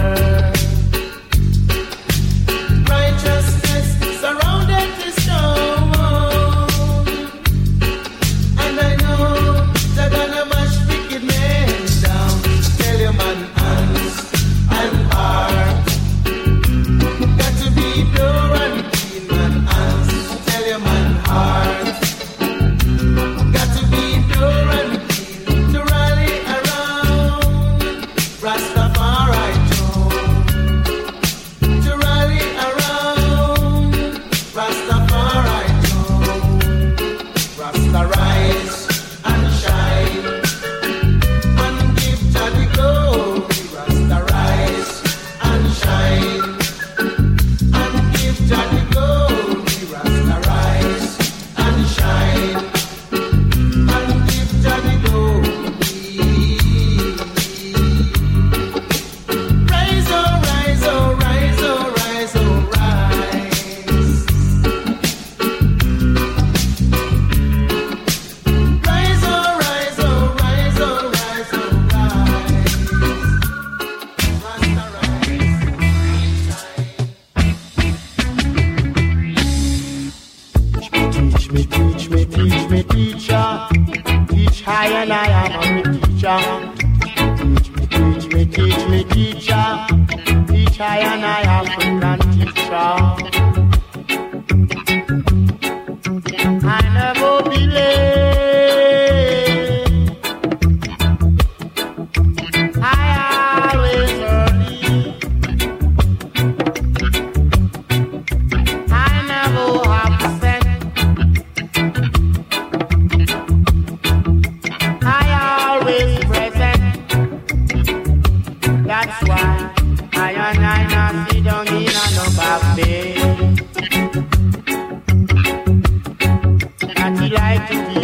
Righteousness surrounded His throne, and I know they're gonna mash wicked men down. Tell your man hands and heart got to be pure and clean, man hands. Tell your man heart got to be pure and clean to rally around Rastafari throne, to rally around Rastafari throne. Rasta rise and shine and give Jah the glory. Rasta rise and shine and give Jah the glory. Rasta rise and shine and give Jah the glory. Rise, oh, rise, oh, rise, oh, rise, oh, rise. Rise, oh, rise, oh, rise, oh, rise, oh, rise. Rasta rise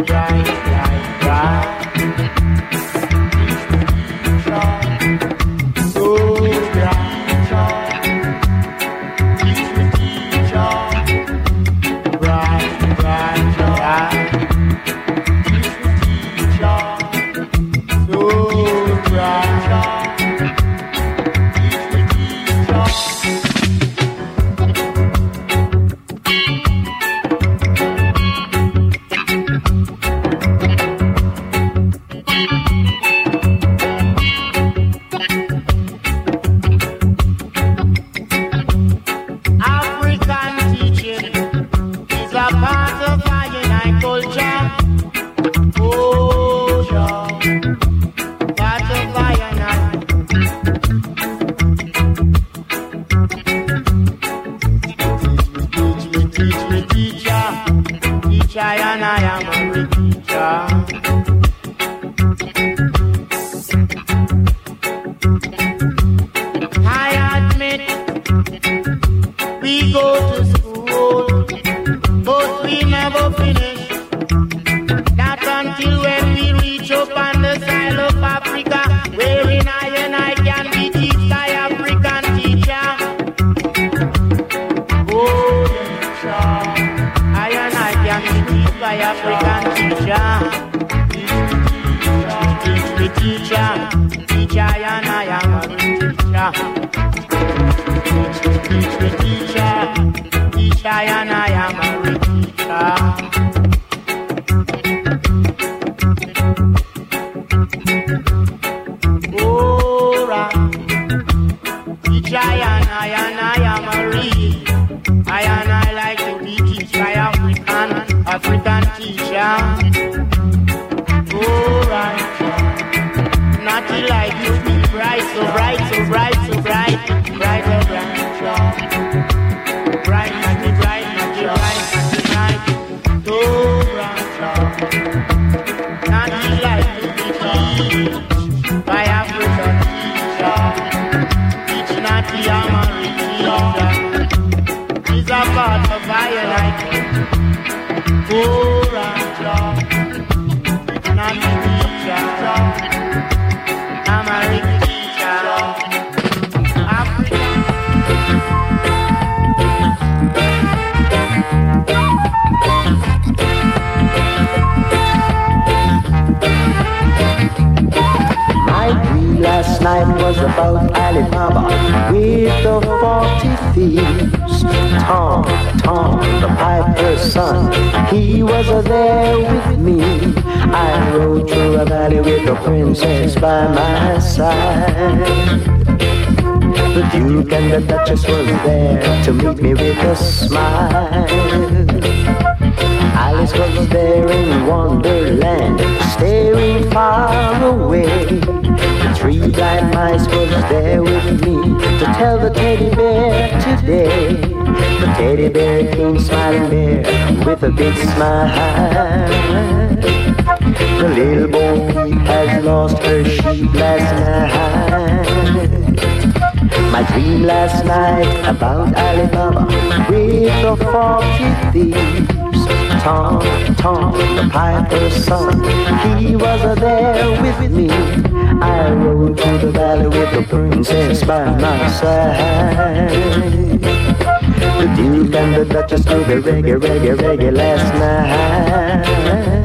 with a big smile. The little Bo Peep has lost her sheep last night. My dream last night about Alibaba with the 40 thieves. Tom, Tom, the piper's son, he was there with me. I rode through the valley with the princess by my side. The Duke and the Duchess do the reggae, reggae, reggae last night.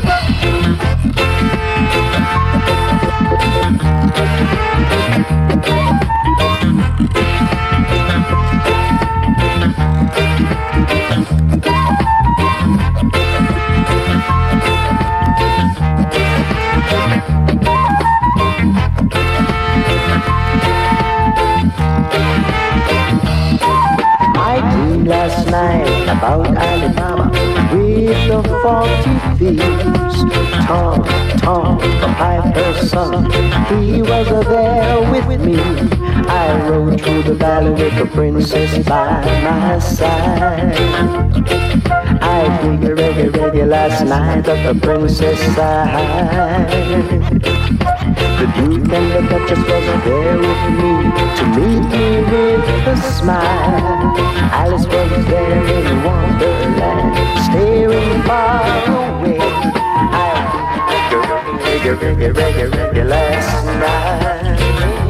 Last night about Alibaba with the 40 thieves. Tom, Tom, the piper's son, he was there with me. I rode through the valley with the princess by my side. I did the reggae, reggae last night at the princess' side. The Duke and the Duchess was there with me to meet me with a smile. Alice was there in Wonderland, staring far away. reggae, reggae, reggae, reggae last night.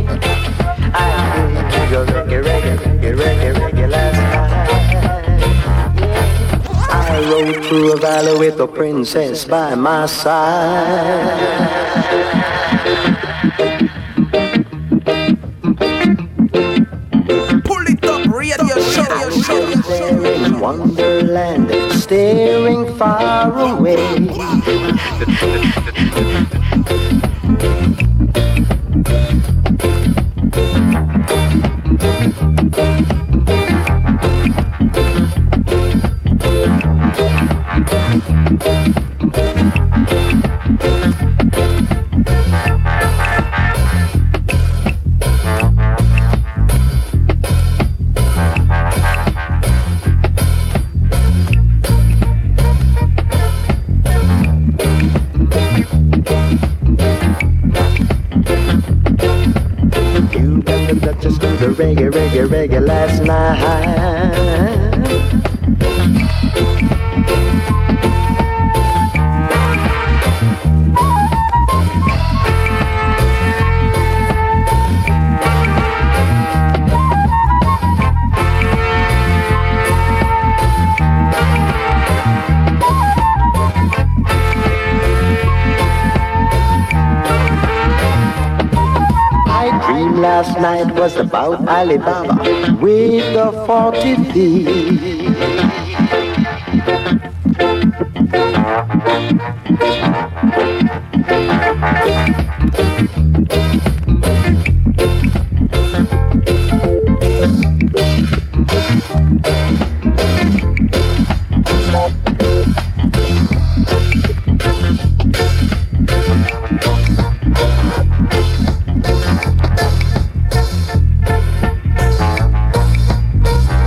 I dig a reggae, reggae, reggae, reggae, reggae last night. I rode through a valley with a princess by my side. In Wonderland, staring far away. Reggae, reggae, reggae last night. Last night was about Alibaba with the 40 thieves.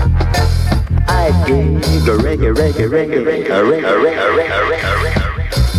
Reggae, reggae, reggae, reggae, reggae, reggae, reggae, reggae.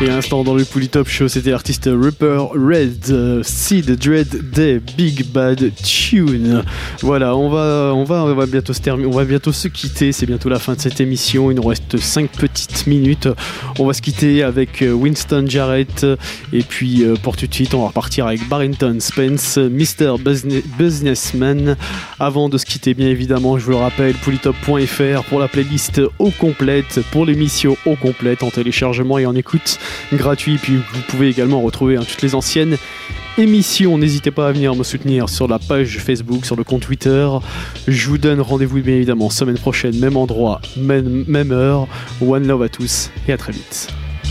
Et à l'instant dans le Polytop Show, c'était l'artiste Rupert Red, Seed Dread Day, Big Bad Tune. Voilà, on va bientôt se terminer, on va bientôt se quitter. C'est bientôt la fin de cette émission. Il nous reste 5 petites minutes. On va se quitter avec Winston Jarrett. Et puis pour tout de suite, on va repartir avec Barrington Spence, Mr. Businessman. Avant de se quitter, bien évidemment, je vous le rappelle, polytop.fr pour la playlist au complète, pour l'émission au complète en téléchargement et en écoute gratuit. Puis vous pouvez également retrouver toutes les anciennes émissions. N'hésitez pas à venir me soutenir sur la page Facebook, sur le compte Twitter. Je vous donne rendez-vous bien évidemment semaine prochaine, même endroit, même heure. One love à tous et à très vite.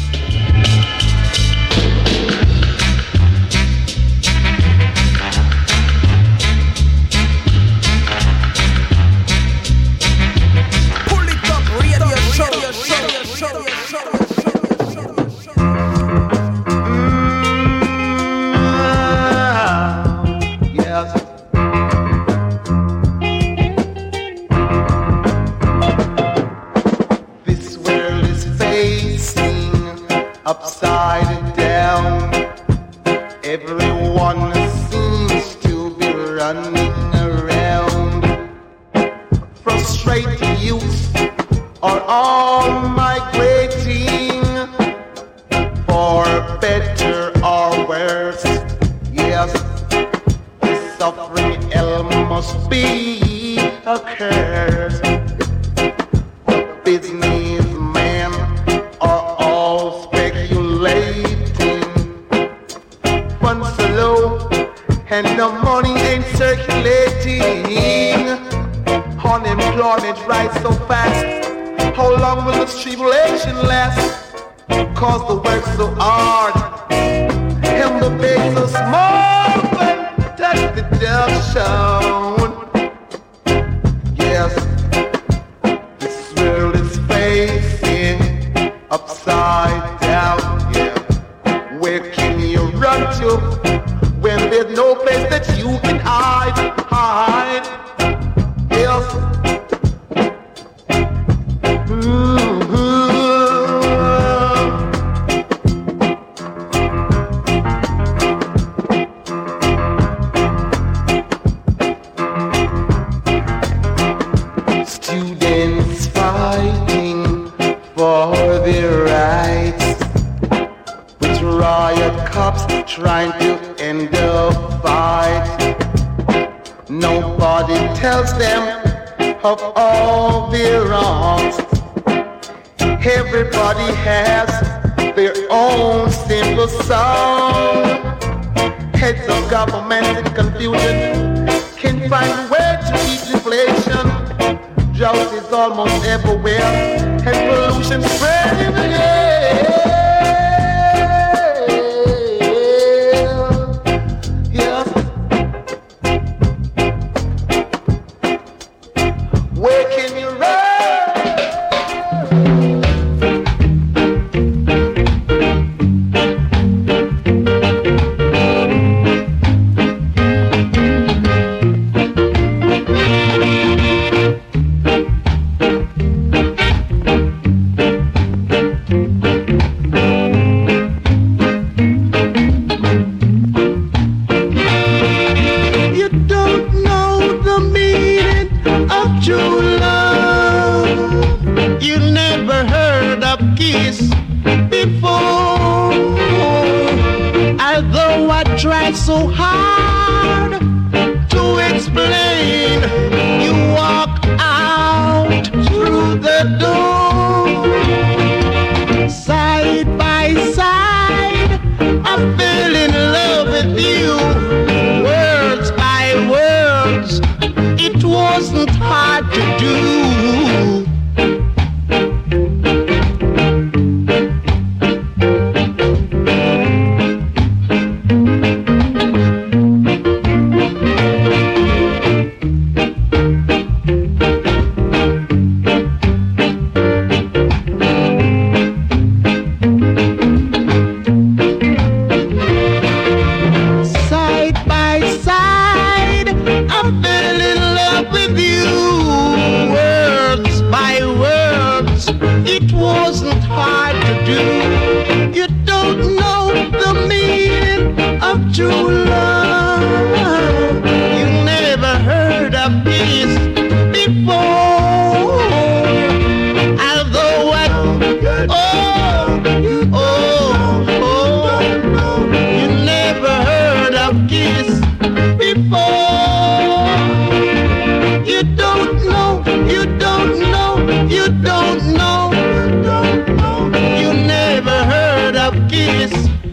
Upside down, everyone seems to be running around. Frustrated youth are all migrating for better or worse. Yes, the suffering hell must be a curse. The businessmen are all speculating. Funds are low and the money ain't circulating. Unemployment rise so fast. How long will this tribulation last? Cause the work's so hard and the pay so small. But that's the deduction. Yes, this world is facing upside down. Yeah, where can you run to when there's no place that you can hide? Yes. Students fighting for their rights, with riot cops trying to end the fight. Nobody tells them of all their wrongs. Everybody has their own simple song. Heads of government in confusion can't find a way to beat inflation. Drought is almost everywhere and pollution spreading the air. Yes. Where can you run? So hard to explain, you walk out through the door. Side by side, I fell in love with you. Words by words, it wasn't hard to do. It wasn't hard to do. You don't know the meaning of true love. You never heard of peace before. Although you never heard of kiss before. You don't know, you don't know, you don't know, you never heard of kiss